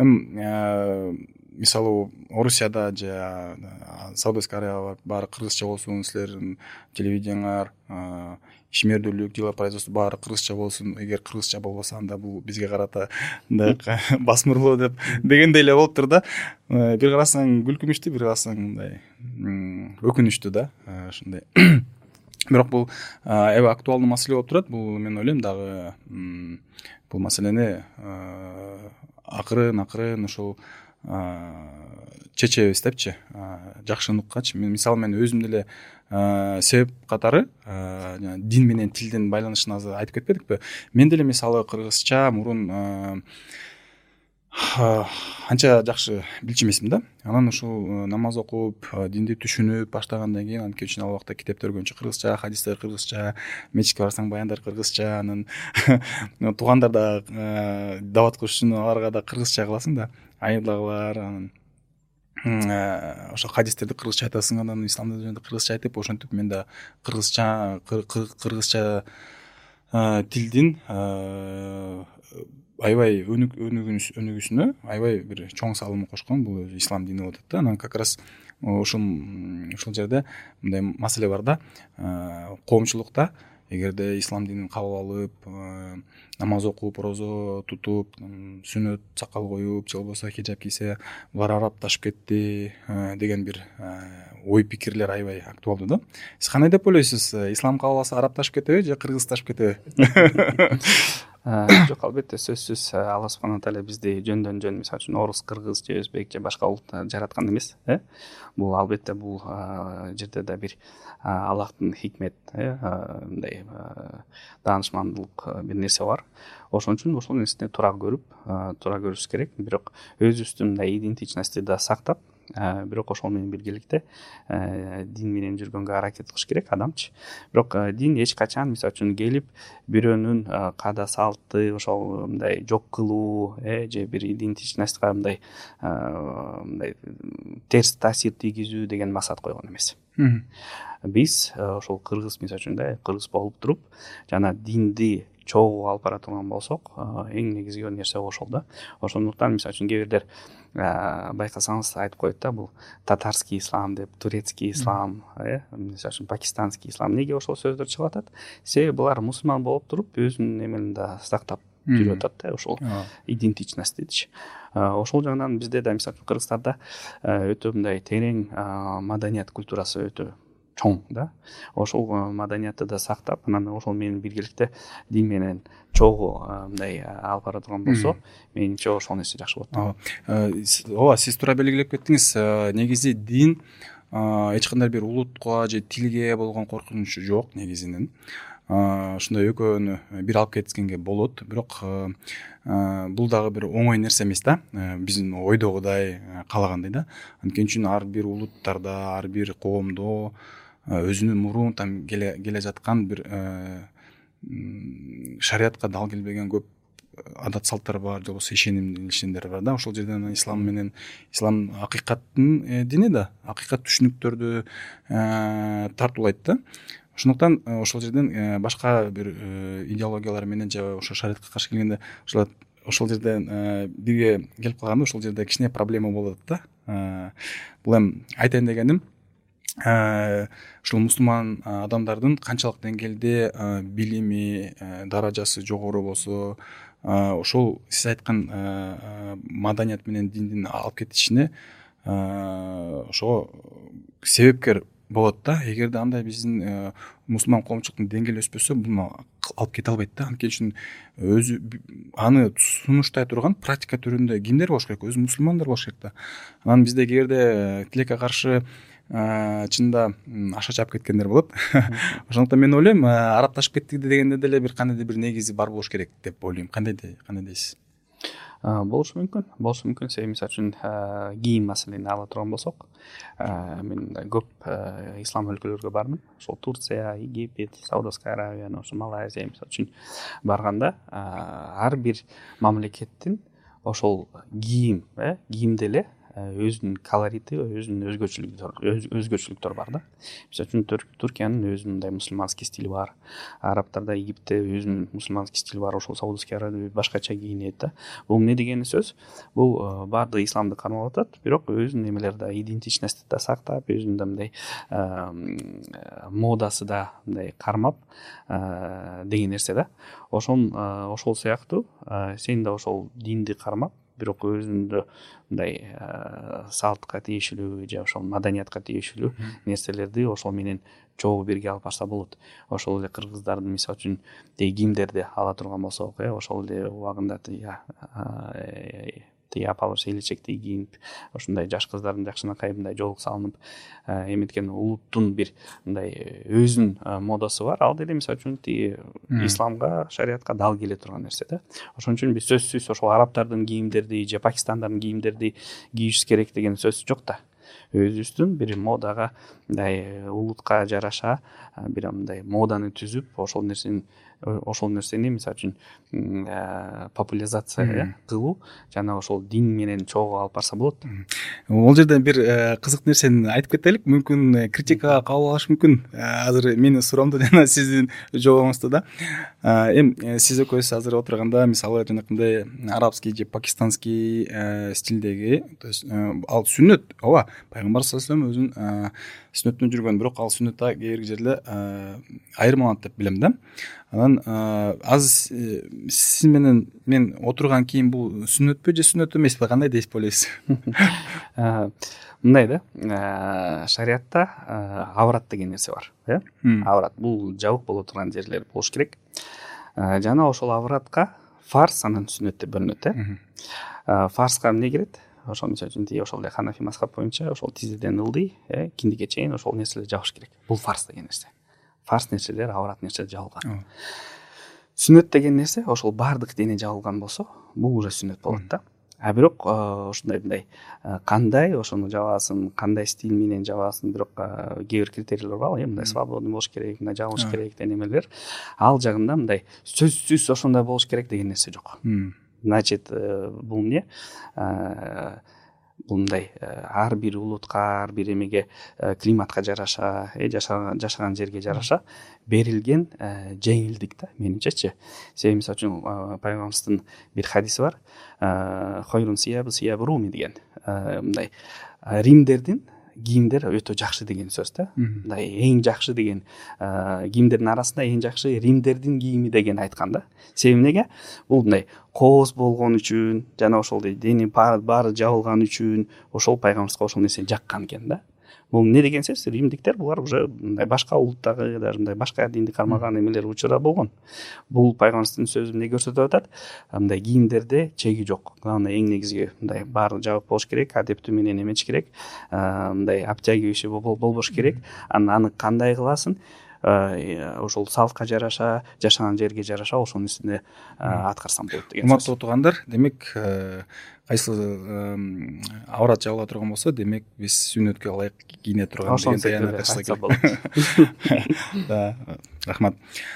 Мисалы, Орусияда же Саудовская Арабияда баары кыргызча болсун, силердин телевидениеңар, ишмердүүлүк, дела производство баары кыргызча болсун. Эгер кыргызча болбосо, анда бул бизге карата мындай басмырлоо дегендей эле болуптур да. Бир карасаң күлкүнүчтүү, бир карасаң мындай өкүнүчтүү да, ушундай. Бирок бул аябай актуалдуу маселе болуп турат. Бул мен ойлойм дагы бул маселени акырын ушул чечебиз депчи, жакшыныккачы. Мисалы мен өзүм деле себеп катары дин менен тилдин байланышын азыр айтып кетпедикпи? Мен деле мисалы кыргызча мурун анча жакшы билчү эмесмин да. Анан ушул намаз окуп, динди түшүнүп баштагандан кийин, анткени үчүн ал убакта китептер көбүнчө кыргызча, хадистер кыргызча, мечитке барсаң баяндар кыргызча, анан туугандар да дават кылыш үчүн аларга да кыргызча кыласың да, айырлагылар, анан ошо хадистерди кыргызча айтасың, анан исламды жөнүндө кыргызча айтып, ошентип мен да кыргызча тилдин аябай өнүгүүсүнө аябай бир чоң салым кошкон. Бул өзү ислам дини болуп атат да. Анан как раз ушул жерде мындай маселе бар да, коомчулукта эгерде ислам динин кабыл алып, намаз окуп, орозо тутуп, сүннөт сакал коюп, же болбосо хиджаб кийсе булар арабташып кетти деген бир ой пикирлер аябай актуалдуу да. Сиз кандай деп ойлойсуз? Ислам кабыл алса арабташып кетеби же кыргызташып кетеби? Жок, албетте сөзсүз Алла субхана тааля бизди жөндөн жөн, мисалы үчүн орус, кыргыз же өзбек же башка улут жараткан эмес. Бул албетте бул жерде да бир Аллахтын хикмет, мындай даанышмандуулук бир нерсе бар. Ошон үчүн ошол нерсени туура көрүш керек. Бирок өзүбүздүн мындай идентичностьти да сактап, бирок ошол менен биргеликте дин менен жүргөнгө аракет кылыш керек адамчы. Бирок дин эч качан мисалы үчүн келип бирөөнүн каада салты ошол мындай жок кылуу же бир идентичностька мындай терс таасир тийгизүү деген максат койгон эмес. Биз ошол кыргыз, мисалы үчүн кыргыз болуп туруп жана динди чогуу алып бара турган болсок, эң негизги нерсе ошол да. Ошондуктан мисалы үчүн кээ бирлер байкасаңыз айтып коет да, бул татарский ислам деп, турецкий ислам, мисалы үчүн пакистанский ислам. Неге ошол сөздөр чыгып атат? Себеби булар мусулман болуп туруп өзүнүн эмелин да сактап жүрүп атат да, ошол идентичностьтичи. Ошол жагынан бизде да мисалы үчүн Кыргызстанда өтө мындай терең маданият культурасы өтө чоң да. Ошол маданиятты да сактап, анан ошол менен биргеликте дин менен чогуу мындай алып бара турган болсо, менимче ошол нерсе жакшы болот. Ооба, сиз туура белгилеп кеттиңиз. Негизи дин эч кандай бир улутка же тилге болгон коркунучу жок негизинен. Ушундай экөөнү бир алып кеткенге болот, бирок бул дагы бир оңой нерсе эмес да, биздин ойдогудай, каалагандай да. Анткени үчүн ар бир улуттарда, ар бир коомдо өзүнүн мурунтан келе жаткан бир шариятка дал келбеген көп адат салттар бар, же болбосо ишенимдер бар да. Ошол жерден ислам акыйкаттын дини да, акыйкат түшүнүктөрдү тартуулайт да. Ошондуктан ошол жерден башка бир идеологиялар менен же ошо шариятка каршы келгенде ошол жерден бирге келип калганда ошол жерде кичине проблема болот да. Бул эми айтайын дегеним, ушул мусулман адамдардын канчалык деңгээлде билими, даражасы жогору болсо, ошол сиз айткан маданият менен диндин алып кетишине ошого себепкер болот да. Эгерде андай биздин мусулман коомчулуктун деңгээли өспөсө, буну алып кете албайт да. Анткени үчүн өзү аны сунуштай турган практика түрүндө кимдер болуш керек? Өзү мусулмандар болуш керек да. Анан бизде кээде тилекке каршы чынында аша чаап кеткендер болот. Ошондуктан мен ойлойм, арабташып кетти дегенде деле бир кандайдыр бир негизи бар болуш керек деп ойлойм. Кандай дейсиз? Болушу мүмкүн. Себеби мисалы үчүн кийим маселени ала турган болсок, мен көп ислам өлкөлөргө бардым. Ошол Турция, Египет, Саудовская Аравия, ошо Малайзия мисалы үчүн барганда, ар бир мамлекеттин ошол кийимде эле өзүнүн колорити, өзүнүн өзгөчөлүктөр бар да. Мисалы үчүн Туркиянын өзүнүн мындай мусулманский стили бар. Арабтарда, Египтте өзүнүн мусулманский стили бар. Ошол Саудовская Аравия башкача кийинет да. Бул эмне деген сөз? Бул баардыгы исламды кармап атат, бирок өзүнүн эмелери да, идентичности да сактап, өзүнүн да мындай модасы да мындай кармап деген нерсе да. Ошол сыяктуу сен да ошол динди кармап, бирок өзүндө мындай салтка тиешелүү же ошол маданиятка тиешелүү нерселерди ошол менен чогуу бирге алып барса болот. Ошол эле кыргыздардын мисалы үчүн кийимдерди ала турган болсок, ошол эле убагында тиги апалыш элечектей кийинип ушундай жаш кыздардын жакшынакай мындай жоолук салынып эметкен улуттун бир мындай өзүнүн модасы бар. Ал деле мисалы үчүн тиги исламга, шариатка дал келе турган нерсе да. Ошон үчүн биз сөзсүз ошол арабтардын кийимдерди же Пакистандын кийимдерди кийишибиз керек деген сөз жок да. Өзүбүздүн бир модага мындай улутка жараша бир мындай моданы түзүп ошол нерсени мисалы үчүн популяризация кылуу жана ошол дин менен чогуу алып барса болот. Ол жерден бир кызык нерсени айтып кетелик. Мүмкүн критикага кабыл алышы мүмкүн. Азыр менин суроомду жана сиздин жообуңузду да. Эми сиз экөөсүз азыр отурганда мисалы жанакындай арабский же пакистанский стилдеги, то есть ал сүннөт, ооба, пайгамбар саллаллаху алейхи вассалам өзүнүн сүннөтүнө жүргөн, бирок ал сүннөттө кээ бир жерде айырмаланат деп билем да. Анан азыр сиз менен мен отурган кийим бул сүннөтпү же сүннөт эмеспи, кандай дейсиз ойлойсуз? Мындай да, шариатта аврат деген нерсе бар, аврат бул жабык боло турган жерлер болуш керек. Жана ошол авратка фарз анан сүннөт деп бөлүнөт, фарзга эмне кирет? Ошол мисалы үчүн тиги ошол Ханафи мазхаб боюнча ошол тизеден ылдый, киндиге чейин ошол нерселер жабыш керек. Бул фарз деген нерсе. Фарз нерселер, аврат нерселер жабылган. Сүннөт деген нерсе ошол баардык дене жабылган болсо, бул уже сүннөт болот да. Бирок ушундай мындай кандай ошону жабасың, кандай стиль менен жабасың, бирок кээ бир критерийлер бар, мындай свободный болуш керек, мындай жабылыш керек деген эмелер. Ал жагында мындай сөзсүз ошондой болуш керек деген нерсе жок. Значит, бул эмне? Бул мындай ар бир улутка, ар бир эмеге, климатка жараша, жашаган жерге жараша берилген жеңилдик да, менимчечи. Себеби мисалы үчүн пайгамбарыбыздын бир хадиси бар. Хойрун сиябы сиябы руми деген. Мындай римдердин кийимдер өтө жакшы деген сөз да. Мындай эң жакшы деген кийимдердин арасында эң жакшы римдердин кийими деген айткан да. Себеби эмнеге? Бул мындай кооз болгон үчүн жана ошол дене баары жабылган үчүн ошол пайгамбарыбызга ошол нерсени жаккан экен да. Бул эмне деген сөз? Римдиктер булар уже мындай башка улуттагы, даже мындай башка динди кармаган эмелер учура болгон. Бул пайгамбарыбыздын сөзү эмне көрсөтүп атат? Мындай кийимдерде чеги жок. Главное эң негизги мындай баары жабык болуш керек, адептүү менен эметиш керек. Мындай обтягивающий болбош керек. Аны кандай кыласың? Ошол салтка жараша, жашаган жерге жараша ошол нерсени аткарсаң болот деген сөз. Урматтуу отугандар, демек кайсы аврат жабыла турган болсо, демек биз сүннөткө ылайык кийине турган деген таянат айтсак болот. Да, рахмат.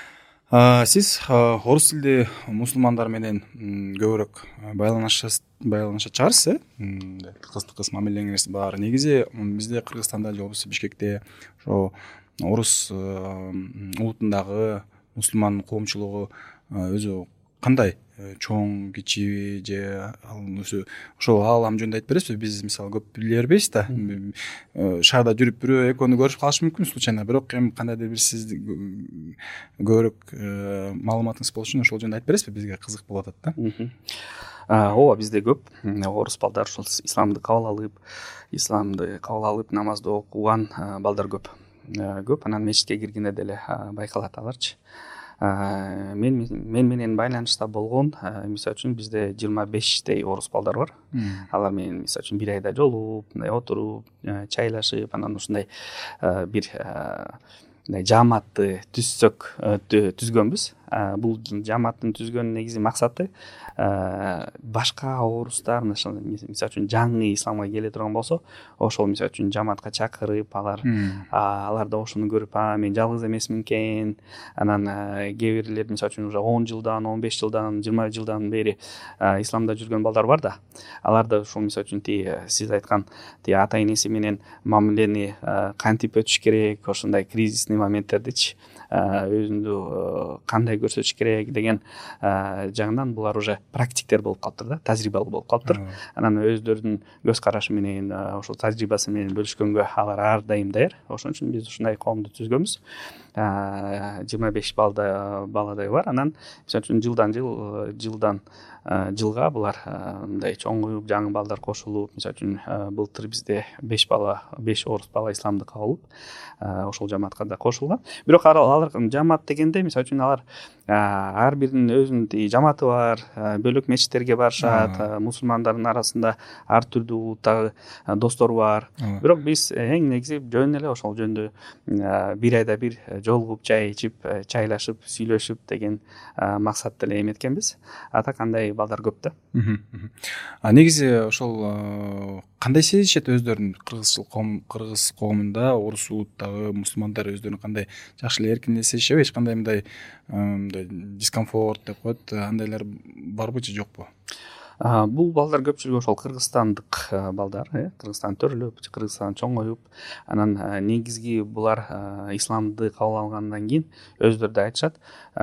Сиз орус тилдүү мусулмандар менен көбүрөөк байланышачарсыз, кыз мамилеңиз бар. Негизи бизде Кыргызстанда же болбосо Бишкекте ошо орус улутундагы мусулман коомчулугу өзү кандай, чоң, кичи же өзү ошол аалам жөнүндө айтып бересизби? Биз мисалы көп биле бербейбиз да. Шаарда жүрүп бирөө экөөнү көрүп калышы мүмкүн случайно, бирок эми кандайдыр бир сиз көбүрөөк маалыматыңыз болуш үчүн ошол жөнүндө айтып бересизби? Бизге кызык болуп атат да. Ооба, бизде көп орус балдар ошол исламды кабыл алып, намазды окуган балдар көп. Анан мечитке киргенде деле байкалат аларчы. Мен менен байланышта болгон, мисалы үчүн бизде 25 орус балдар бар. Алар менен мисалы үчүн бир айда жолугуп, мындай отуруп, чайлашып, анан ушундай бир жааматты түзгөнбүз. Бул жааматтын түзгөн негизи максаты башка орустар мисалы үчүн жаңы исламга келе турган болсо, ошол мисалы үчүн жааматка чакырып, алар да ошону көрүп, мен жалгыз эмесмин экен. Анан кээ бирлер мисалы үчүн уже 10 жылдан, 15 жылдан, 20 жылдан бери исламда жүргөн балдар бар да. Алар да ошол мисалы үчүн сиз айткан ата энеси менен мамилени кантип өтүш керек, ошондой кризисный моменттердичи өзүндү кандай көрсөтүш керек деген жагынан булар уже практиктер болуп калыптыр да, тажрыйбалуу болуп калыптыр. Анан өздөрүнүн көз карашы менен, ошол тажрыйбасы менен бөлүшкөнгө алар ар дайым даяр. Ошон үчүн биз ушундай коомду түзгөнбүз. 25 баладай бар. Анан мисалы үчүн жылдан жылга булар мындай чоңоюп, жаңы балдар кошулуп, мисалы үчүн былтыр бизде 5 орус бала исламды кабыл алып, ошол жамаатка да кошулган. Бирок алар жамаат дегенде мисалы үчүн алар ар биринин өзүнүн жамааты бар, бөлөк мечиттерге барышат, мусулмандардын арасында ар түрдүү улуттагы достор бар. Бирок биз эң негизи жөн эле ошол жөндө бир айда бир жолугуп, чай ичип, чайлашып, сүйлөшүп деген максатты эле эметкенбиз. Так андай балдар көп да. Негизи ошол кандай сезишет өздөрүн кыргыз коомунда, орус улуттагы мусулмандар өздөрүн кандай жакшы эле эркин эле сезишеби? Эч кандай мындай дискомфорт деп коет, андайлар барбы же жокпу? Бул балдар көпчүлүгү ошол кыргызстандык балдар, Кыргызстан төрөлүп, Кыргызстан чоңоюп, анан негизги булар исламды кабыл алгандан кийин өздөрү да айтышат,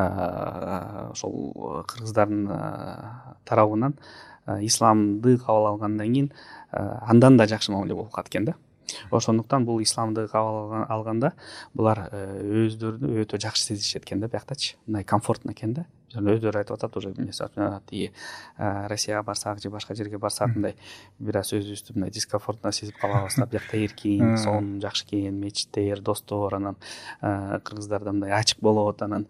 ошол кыргыздардын тарабынан исламды кабыл алгандан кийин андан да жакшы мамиле болуп калат экен да. Ошондуктан бул исламды кабыл алганда булар өздөрүнү өтө жакшы сезишет экен да, бияктачы. Мындай комфортно экен да. Өздөрү айтып атат уже, мисалы тиги Россияга барсак же башка жерге барсак мындай бир аз өзүбүздү мындай дискомфортно сезип калабыз да. Биякта эркин, сонун жакшы экен, мечиттер, достор, анан кыргыздарда мындай ачык болот, анан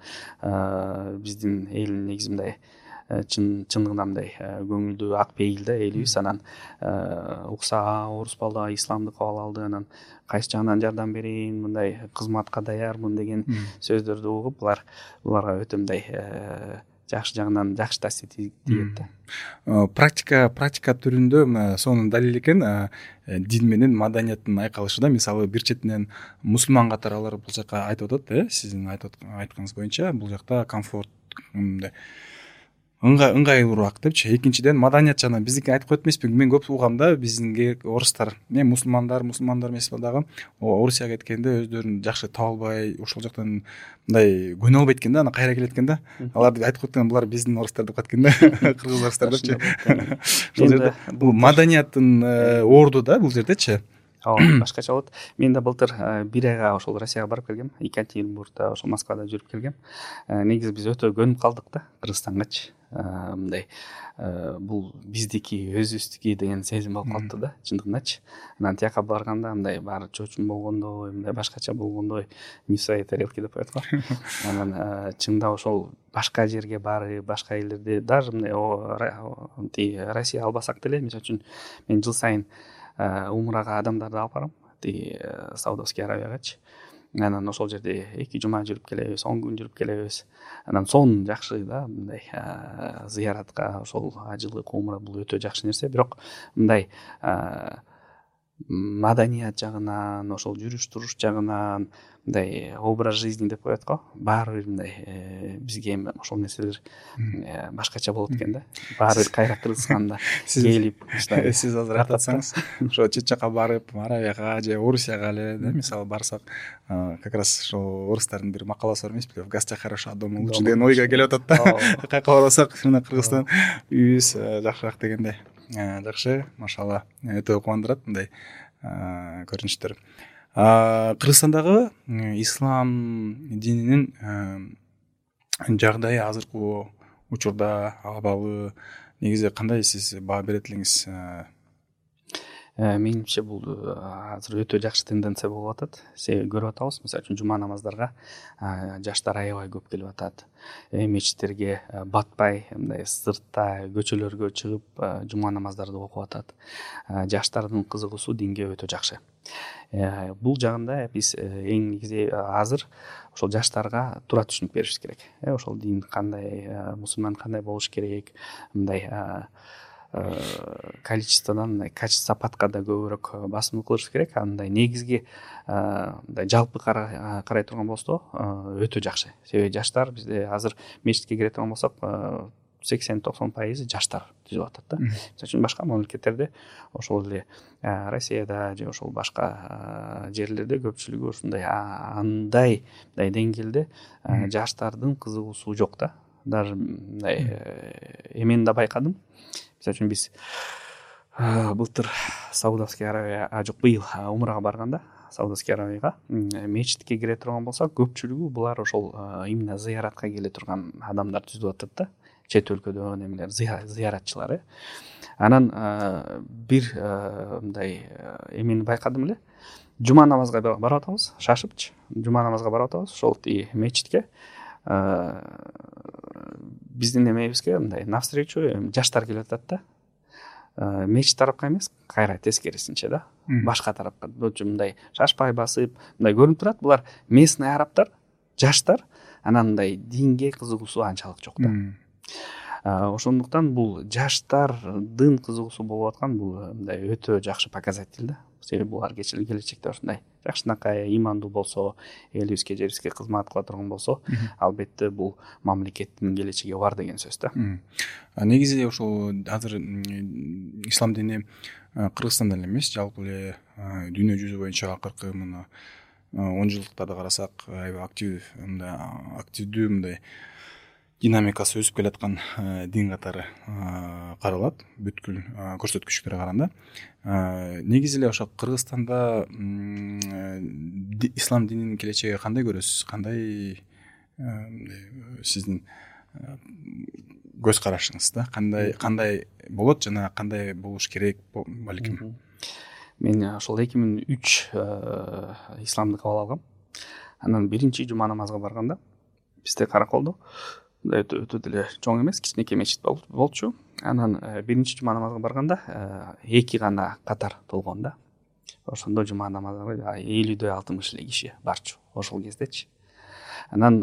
биздин эл негизи мындай чындыгында мындай көңүлдүү ак пейил да элибиз. Анан укса орус бала исламды кабыл алды, анан кайсы жагынан жардам берейин, мындай кызматка даярмын деген сөздөрдү угуп, буларга өтө мындай жакшы жагынан жакшы таасир тийет да. Практика түрүндө мына сонун далил экен, дин менен маданияттын айкалышы да. Мисалы бир четинен мусулман катары алар бул жака айтып атат, сиздин айтканыңыз боюнча бул жакта комфорт, мындай ыңгайлуураак депчи. Экинчиден маданият жана биздики айтып коет эмеспи, мен көп угам да, биздинге орустар, мусулмандар эмес дагы Орусияга кеткенде өздөрүн жакшы таба албай, ошол жактан мындай көнө албайт экен да, анан кайра келет экен да. Алар айтып коет экен, булар биздин орустар деп коет экен да, кыргыз орустар депчи. Ошол жерде бул маданияттын орду да бул жердечи. Башкача болот. Мен да былтыр бир айга ошол Россияга барып келгем, Екатеринбургда, ошол Москвада жүрүп келгем. Негизи биз өтө көнүп калдык да Кыргызстангачы. Мындай бул биздики, өзүбүздүкү деген сезим болуп калды да, чындыгындачы. Анан тияка барганда мындай баары чочун болгондой, мындай башкача болгондой, не в своей тарелке деп коет го. Анан чында ошол башка жерге барып, башка элдерде даже мындай Россия албасак деле, мисалы үчүн мен жыл сайын умрага адамдарды алып барам, Саудовский Аравиягачы. Анан ошол жерде 2 жума жүрүп келебиз, 10 күн жүрүп келебиз. Анан сонун жакшы да, мындай зыяратка, ошол ажылык умра бул өтө жакшы нерсе. Бирок мындай маданият жагынан, ошол жүрүш туруш жагынан, мындай образ жизни деп коет го, баары бир мындай бизге ошол нерселер башкача болот экен да. Баары бир кайра Кыргызстанда келип, сиз азыр айтсаңыз, ошо чет жака барып, Аравияга же Орусияга эле, мисалы барсак, как раз ошол орустардын бир макаласы бар эмеспи, в гостях хорошо, дома лучше деген ойго келип атат да. Кайка барсак, мына Кыргызстан үйүбүз жакшыраак дегенде. Жакшы, машалла, өтө кубандырат мындай көрүнүштөр. Кыргызстандагы ислам дининин жагдайы азыркы учурда, абалы негизи кандай, сиз баа берет элеңиз? Менимче бул азыр өтө жакшы тенденция болуп атат. Себеби көрүп атабыз, мисалы үчүн жума намаздарга жаштар аябай көп келип атат. Мечиттерге батпай, мындай сыртта көчөлөргө чыгып жума намаздарды окуп атат. Жаштардын кызыгуусу динге өтө жакшы. Бул жагында биз эң негизи азыр ошол жаштарга туура түшүнүк беришибиз керек. Ошол дин кандай, мусулман кандай болуш керек, мындай количестводан качество падкада көбүрөөк басым кылыш керек. Андай негизги мындай жалпы карай турган болсо өтө жакшы. Себеби жаштар бизде азыр мечитке кире турган болсок 80-90% жаштар түзүп атат да. Мисалы үчүн башка мамлекеттерде, ошол эле Россияда же ошол башка жерлерде көпчүлүгү ушундай андай деңгээлде жаштардын кызыгуусу жок да. Даже мындай эмен да байкадым. Мисалы үчүн биз былтыр Саудовский Аравия, жок, быйыл умрага барганда Саудовский Аравияга мечитке кире турган болсок, көпчүлүгү булар ошол именно зыяратка келе турган адамдар түзүп атат да, чет өлкөдөн эмелер зыяратчылар. Анан бир мындай эмени байкадым эле. Жума намазга барып атабыз, шашыпчы. Жума намазга барып атабыз, ошол мечитке. Биздин эмебизге мындай навстречу жаштар келип атат да. Мечит тарапка эмес, кайра тескерисинче да, башка тарапка. Мындай шашпай басып, мындай көрүнүп турат, булар местный арабтар, жаштар, анан мындай динге кызыгуусу анчалык жок да. Ошондуктан бул жаштардын кызыгуусу болуп аткан бул мындай өтө жакшы показатель да. Себеби булар келечекте ушундай жакшынакай ыймандуу болсо, элибизге, жерибизге кызмат кыла турган болсо, албетте бул мамлекеттин келечеги бар деген сөз да. Негизи ошол азыр ислам дини Кыргызстанда эле эмес, жалпы эле дүйнө жүзү боюнча акыркы мына 10 жылдыктарды карасак, аябай активдүү мындай динамикасы өсүп келаткан дин катары каралат, бүткүл көрсөткүчтөргө караганда. Негизи эле ошо Кыргызстанда ислам дининин келечеги кандай көрөсүз? Кандай сиздин көз карашыңыз да? Кандай болот жана кандай болуш керек балким? Мен ошол 2003 исламды кабыл алгам. Анан биринчи жума намазга барганда бизде караколдо өтө деле чоң эмес, кичинекей мечит болчу. Анан биринчи жума намазга барганда 2 гана катар толгон да. Ошондо жума намазга 50-60 эле киши барчу ошол кездечи. Анан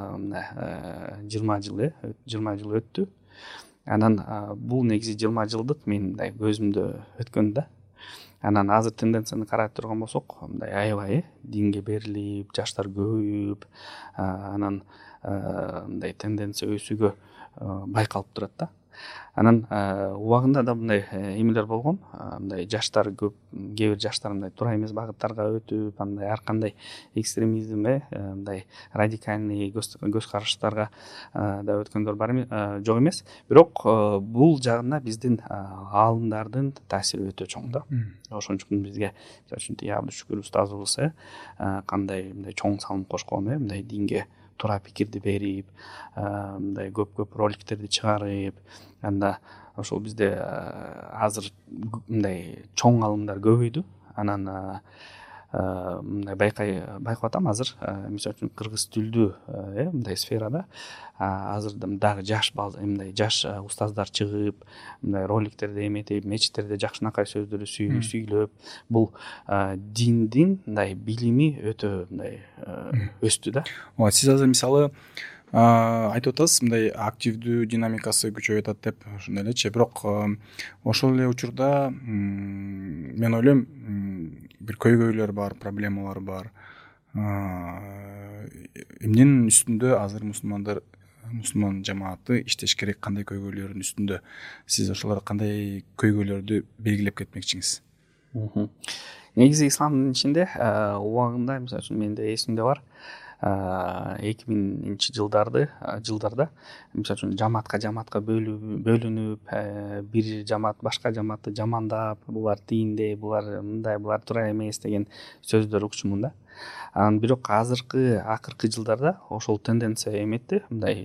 20 жыл өттү. Анан бул негизи 20 жылдык мен мындай көзүмдө өткөн да. Анан азыр тенденцияны карап турган болсок, мындай аябай динге берилип, жаштар көбөйүп, анан мындай тенденция өсүүгө байкалып турат да. Анан убагында да мындай эмелер болгон, мындай жаштар көп, кээ бир жаштар мындай туура эмес багыттарга өтүп, андай ар кандай экстремизм, мындай радикальный көз караштарга да өткөндөр бар жок эмес. Бирок бул жагына биздин аалымдардын таасири өтө чоң да. Ошон үчүн бизге, мисалы үчүн Абдушүкүр устазыбыз кандай мындай чоң салым кошкон, мындай динге туура пикирди берип, мындай көп роликтерди чыгарып, анда ошол бизде азыр мындай чоң алымдар көбөйдү. Анан мындай байкап атам азыр, мисалы үчүн кыргыз тилдүү мындай сферада азыр дагы жаш устаздар чыгып, мындай роликтерди эметип, мечиттерде жакшынакай сөздөрдү сүйлөп, бул диндин мындай билими өтө мындай өстү да. Сиз азыр мисалы айтып атасыз, мындай активдүү динамикасы күчөйүп атат деп, ошондой элечи. Бирок ошол эле учурда мен ойлойм, бир көйгөйлөр бар, проблемалар бар. Эмненин үстүндө азыр мусулман жамааты иштеш керек, кандай көйгөйлөрдүн үстүндө? Сиз ошолор кандай көйгөйлөрдү белгилеп кетмекчисиз? Негизи исламдын ичинде убагында, мисалы үчүн менде эсимде бар, 2000 жылдарда мисалы үчүн жамаатка бөлүнүп, бир жамаат башка жамаатты жамандап, булар тиинде, булар мындай, булар туура эмес деген сөздөр угчумун да. Анан бирок акыркы жылдарда ошол тенденция эметти, мындай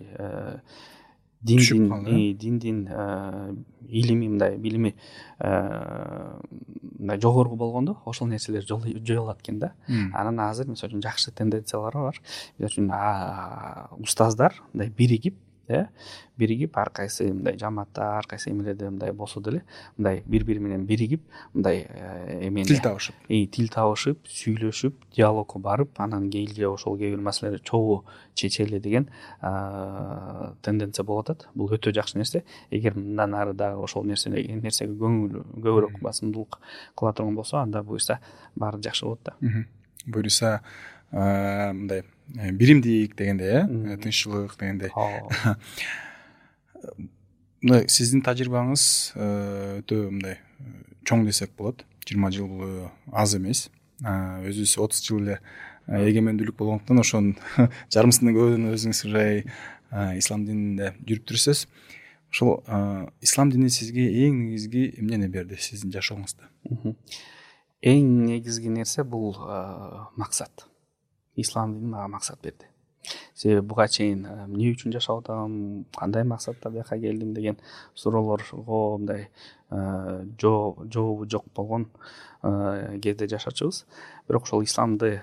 диндин илими, мындай билими мындай жогору болгондо ошол нерселер жоюлат экен да. Анан азыр мисалы үчүн жакшы тенденциялар бар. Мисалы үчүн устаздар мындай биригип ар кайсы мындай жамаатта, ар кайсы эмелерде мындай болсо деле, мындай бири менен биригип, мындай тил табышып, сүйлөшүп, диалогко барып, анан кийинче ошол кээ бир маселелерди чогуу чечели деген тенденция болуп атат. Бул өтө жакшы нерсе. Эгер мындан ары дагы ошол нерсеге көбүрөөк басымдуулук кыла турган болсо, анда буюрса баары жакшы болот да. Буюрса мындай биримдик дегендей, тынччылык дегендей. Мындай сиздин тажрыйбаңыз өтө мындай чоң десек болот. 20 жыл аз эмес. Өзүбүз 30 жыл эле эгемендүүлүк болгондуктан ошонун жарымысынан көбүн өзүңүз ислам дининде жүрүп жүрсүз. Ошол ислам дини сизге эң негизги эмнени берди сиздин жашооңузда? эң негизги нерсе бул максат. Ислам дини мага максат берди. Себеби буга чейин эмне үчүн жашап атам, кандай максатта бияка келдим деген суроолорго мындай жообу жок болгон кезде жашачубуз. Бирок ошол исламды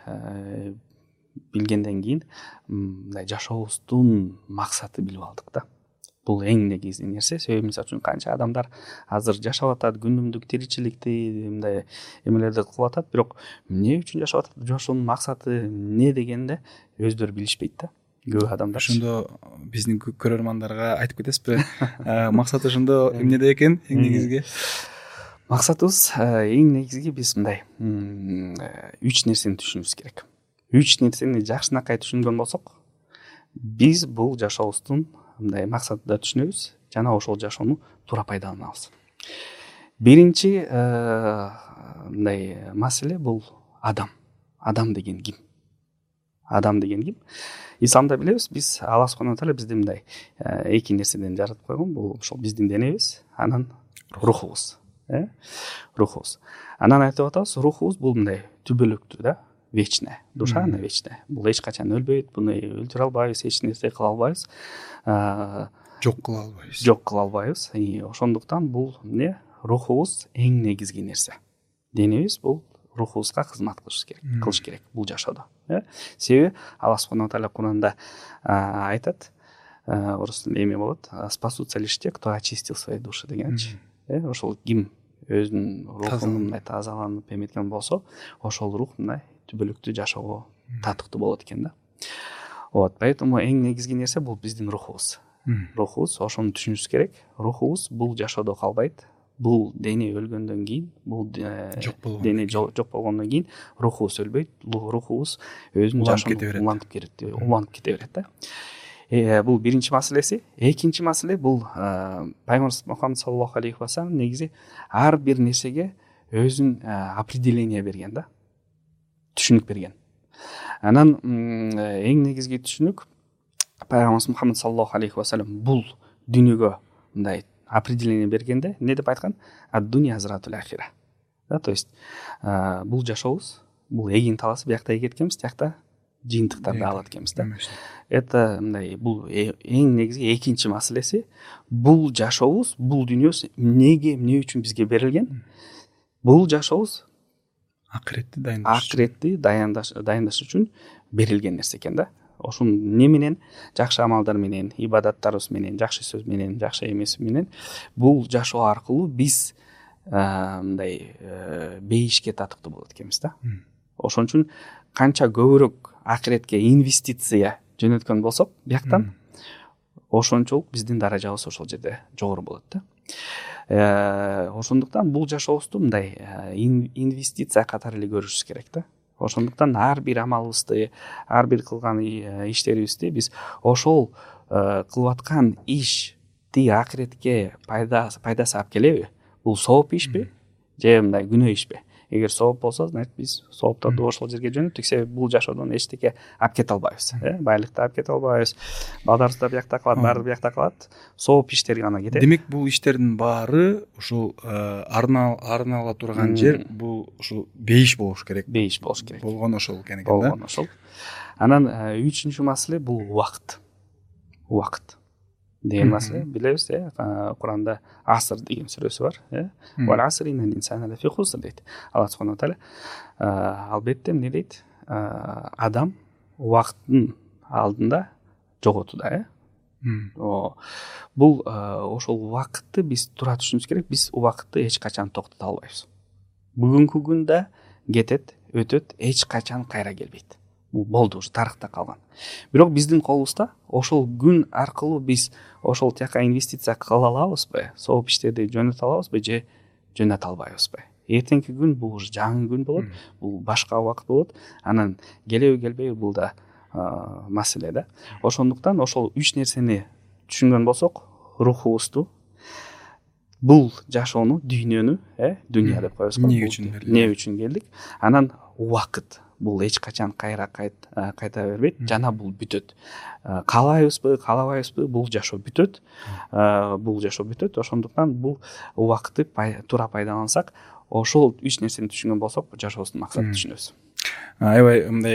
билгенден кийин мындай жашообуздун максаты билип алдык да. Бул эң негизги нерсе. Себеби мисалы үчүн канча адамдар азыр жашап атат, күнүмдүк тиричиликти мындай эмелерди кылып атат, бирок эмне үчүн жашап атат, жашоонун максаты эмне дегенде өздөрү билишпейт да. Көп адамдар. Ошондо биздин көрөрмандарга айтып кетесизби? Максаты ошондо эмнеде экен эң негизги? Максатыбыз эң негизги биз мындай 3 нерсени түшүнүбүз керек. 3 нерсени жакшынакай түшүнгөн болсок, биз бул жашообуздун мындай максатты да түшүнөбүз жана ошол жашоону туура пайдаланабыз. Биринчи мындай маселе бул адам. Адам деген ким? Адам деген ким? Исламда билебиз, биз Алла субхана таала бизди мындай эки нерседен жаратып койгон. Бул ошол биздин денебиз, анан рухубуз. Рухубуз. Анан айтып атабыз, рухубуз бул мындай түбөлүктүү да, вечная. Душа она вечная. Бул эч качан өлбөйт, буну өлтүрө албайбыз, эч нерсе кыла албайбыз. Жок кыла албайбыз. Жок кыла албайбыз. Ошондуктан бул эмне? Рухубуз эң негизги нерсе. Денебиз бул рухубузга кызмат кылыш керек бул жашоодо. Себеби Алла субхана таала Куранда айтат, орус тилинде эме болот, спасутся лишь те, кто очистил свои души дегенчи. Ошол ким өзүнүн рухунун мындай тазаланып эметкен болсо, ошол рух мындай түбөлүктүү жашоого татыктуу болот экен да. Вот, поэтому эң негизги нерсе бул биздин рухубуз. Рухубуз, ошону түшүнүшүбүз керек. Рухубуз бул жашоодо калбайт. Бул дене өлгөндөн кийин, бул дене жок болгондон кийин рухубуз өлбөйт. Рухубуз өзүнүн жашоосун улантып кете берет да. Бул биринчи маселеси. Экинчи маселе бул Пайгамбарыбыз Мухаммад саллаллаху алейхи ва саллям негизи ар бир нерсеге өзүнүн определение берген да. Түшүнүк берген. Анан эң негизги түшүнүк Пайгамбарыбыз Мухаммад саллаллаху алейхи ва саллям бул дүйнөгө мындай определение бергенде не деп айткан? Ад-дуня азратул ахира. Да, то есть бул жашообуз, бул эгин таласы, биякта эгеткенбиз, тиякта жыйынтыктарды алат экенбиз да. Это мындай бул эң негизги экинчи маселеси. Бул жашообуз, бул дүйнөбүз эмне үчүн бизге берилген? Бул жашообуз акыретти дайындаш үчүн берилген нерсе экен да. Ошол эмне менен? Жакшы амалдар менен, ибадаттарыбыз менен, жакшы сөз менен, жакшы эмес менен бул жашоо аркылуу биз мындай бейишке татыктуу болот экенбиз да. Ошон үчүн канча көбүрөөк акыретке инвестиция жөнөткөн болсок, бияктан ошончолук биздин даражабыз ошол жерде жогору болот да. Ошондуктан бул жашообузду мындай инвестиция катары эле көрүшүбүз керек да. Ошондуктан ар бир амалыбызды, ар бир кылган иштерибизди биз ошол кылып аткан ишти акыретке пайдасы алып келеби? Бул сооп ишпи же мындай күнөө ишпи? Эгер сооп болсо, значит биз соопторду ошол жерге жөнөттүк. Себеби бул жашоодон эчтеке алып кете албайбыз. Байлыкты алып кете албайбыз. Балдарыбыз да биякта калат, баары биякта калат. Сооп иштер гана кетет. Демек бул иштердин баары ушул арнала турган жер бул ушул бейиш болуш керек. Бейиш болуш керек. Болгон ошол экен да. Болгон ошол. Анан үчүнчү маселе бул убакыт. Убакыт деген маселе билебиз, Куранда аср деген сүрөсү бар, Вал асри иннал инсана лафи хуср дейт. Алла субхана таала албетте эмне дейт? Адам убакыттын алдында жоготуда, Бул ошол убакытты биз туура түшүнүбүз керек. Биз убакытты эч качан токтото албайбыз. Бүгүнкү күн да кетет, өтөт, эч качан кайра келбейт. Бул болду, ушу тарыхта калган. Бирок биздин колубузда ошол күн аркылуу биз ошол тияка инвестиция кыла алабызбы? Сооп иштерди жөнөтө алабызбы же жөнөтө албайбызбы? Эртеңки күн бул уже жаңы күн болот, бул башка убакыт болот. Анан келеби келбейби бул да маселе да. Ошондуктан ошол 3 нерсени түшүнгөн болсок, рухубузду, бул жашоону, дүйнөнү, дүйнө деп коебуз. Эмне үчүн келдик? Анан убакыт. Бул эч качан кайра кайта бербейт, жана бул бүтөт. Каалайбызбы, каалабайбызбы, бул жашоо бүтөт. Ошондуктан бул убакытты туура пайдалансак, ошол 3 нерсени түшүнгөн болсок жашообуздун максатын түшүнөбүз. Аябай мындай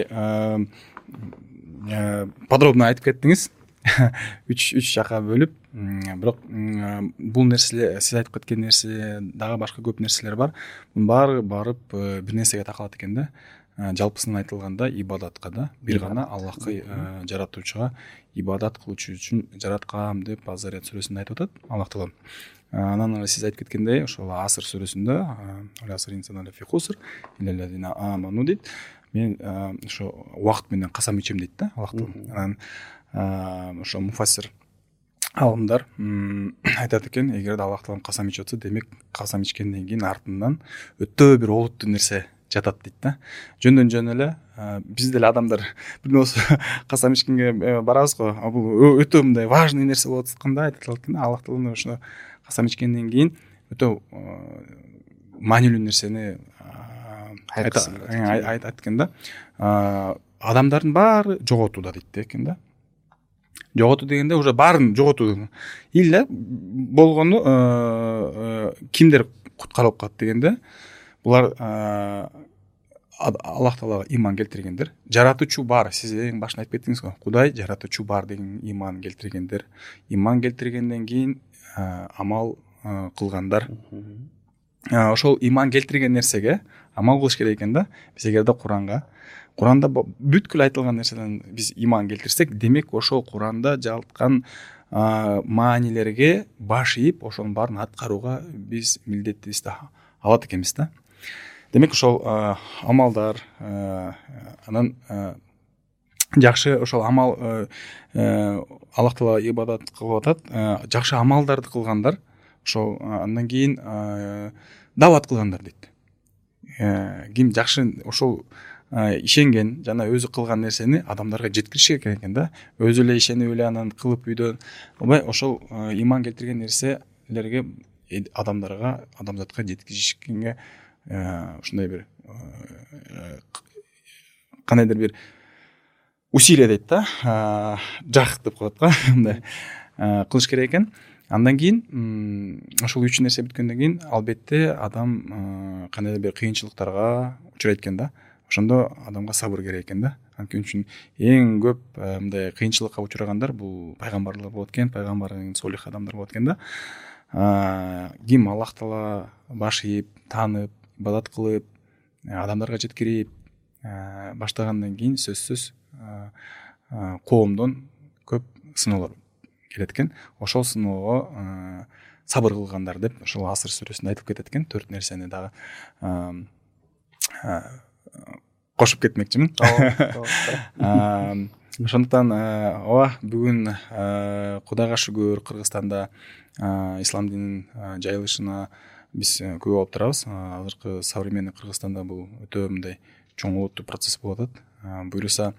подробно айтып кеттиңиз. үч жакка бөлүп, бирок бул нерселер, сиз айтып кеткен нерсе дагы башка көп нерселер бар. Мунун баары барып бир нерсеге такалат экен да. Жалпысын айтылганда ибадатка да, бир гана Аллахка, жаратуучуга ибадат кылуучу үчүн жараткам деп Азарят сүрөсүндө айтып атат Аллах Таала. Анан сиз айтып кеткендей, ошол Аср сүрөсүндө дейт. Мен ошо убакыт менен касам ичем дейт да Аллах Таала. Анан ошо муфассир алымдар айтат экен, эгерде Аллах Таала касам ичип атса, демек касам ичкенден кийин артынан өтө бир олуттуу нерсе жатат дейт да. Жөндөн жөн эле биз деле адамдар бир болсо касам ичкенге барабыз го. Бул өтө мындай важный нерсе болуп атканда айтылат экен. Аллах Таала ошо касам ичкенден кийин өтө маанилүү нерсени айтат экен да. Адамдардын баары жоготууда дейт экен да. Жоготуу дегенде уже баарын жоготуу. Эле болгону кимдер куткарылып калат дегенде, булар Аллах Таалага иман келтиргендер, жаратуучу бар. Сиз эң башында айтып кеттиңиз го. Кудай жаратуучу бар деген иман келтиргендер. Иман келтиргенден кийин амал кылгандар. Ошол иман келтирген нерсеге амал кылыш керек экен да. Биз эгерде Куранда бүткүл айтылган нерседен биз иман келтирсек, демек ошол Куранда жалткан маанилерге баш ийип, ошонун баарын аткарууга биз милдеттибизди алат экенбиз да. Демек ошол амалдар, анан жакшы ошол амал, Аллах Таала ибадат кылып атат, жакшы амалдарды кылгандар, ошол андан кийин дават кылгандар дейт. Ким жакшы ошол ишенген жана өзү кылган нерсени адамдарга жеткириш керек экен да. Өзү эле ишенип эле анан кылып үйдөн албай, ошол иман келтирген нерселерге адамзатка жеткизишкенге ушундай бир кандайдыр бир усилие дейт да, жах деп коет го, мындай кылыш керек экен. Андан кийин ошол 3 нерсе бүткөндөн кийин албетте адам кандайдыр бир кыйынчылыктарга учурайт экен да. Ошондо адамга сабыр керек экен да. Анткени үчүн эң көп мындай кыйынчылыкка учурагандар бул пайгамбарлар болот экен, пайгамбар солих адамдар болот экен да. Ким Аллах Таала баш ийип, таанып, ибадат кылып, адамдарга жеткирип баштагандан кийин сөзсүз коомдон көп сыноолор келет экен. Ошол сыноого сабыр кылгандар деп ошол Аср сүрөсүндө айтылып кетет экен. 4 нерсени дагы кошуп кетмекчимин. Ошондуктан бүгүн Кудайга шүгүр, Кыргызстанда ислам дининин жайылышына биз көп алып турабыз. Азыркы современный Кыргызстанда бул өтө мындай чоң олуттуу процесс болуп атат. Буюрса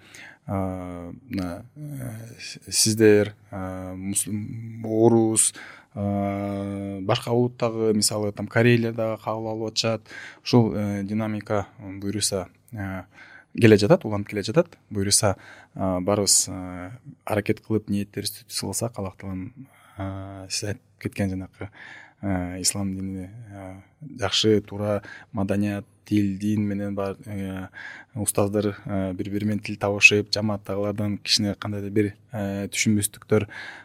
сиздер, орус, башка улуттагы, мисалы там корейлер дагы кабыл алып атышат. Ушул динамика буюрса келе жатат, уланып келе жатат. Буюрса барыбыз аракет кылып ниеттерибизди сыласак, Аллах Тааланын сиз айтып кеткен жанакы ислам дини жакшы, туура маданият, тил, дин менен бар устаздар бири-бири менен тил табышып, жамааттагылардан кичине кандайдыр бир түшүнбөстүктөр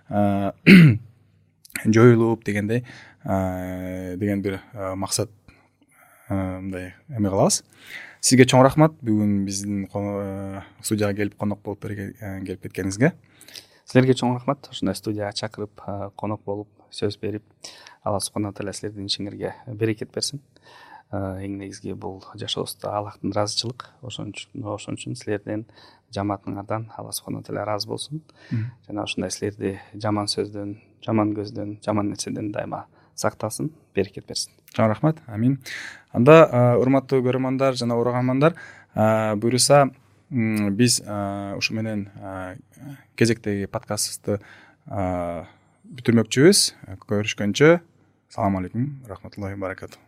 жоюлуп дегендей деген бир максат мындай эме кылабыз. Сизге чоң рахмат бүгүн биздин студияга келип конок болуп келип кеткениңизге. Силерге чоң рахмат. Ушундай студияга чакырып, конок болуп, сөз берип, Алла субхана тааала силердин ишиңерге берекет берсин. Эң негизги бул жашообузда Аллахтын ыраазычылык. Ошон үчүн силерден, жамаатыңардан Алла субхана тааала ыраазы болсун. Жана ушундай силерди жаман сөздөн, жаман көздөн, жаман нерседен дайыма сактасын, берекет берсин. Чоң рахмат. Амин. Анда урматтуу көрөрмандар жана ураганмандар, буюрса биз ушу менен кезектеги подкастыбызды бүтүрмөкчүбүз. Көрүшкөнчө, салам алейкум, рахматуллахи баракату.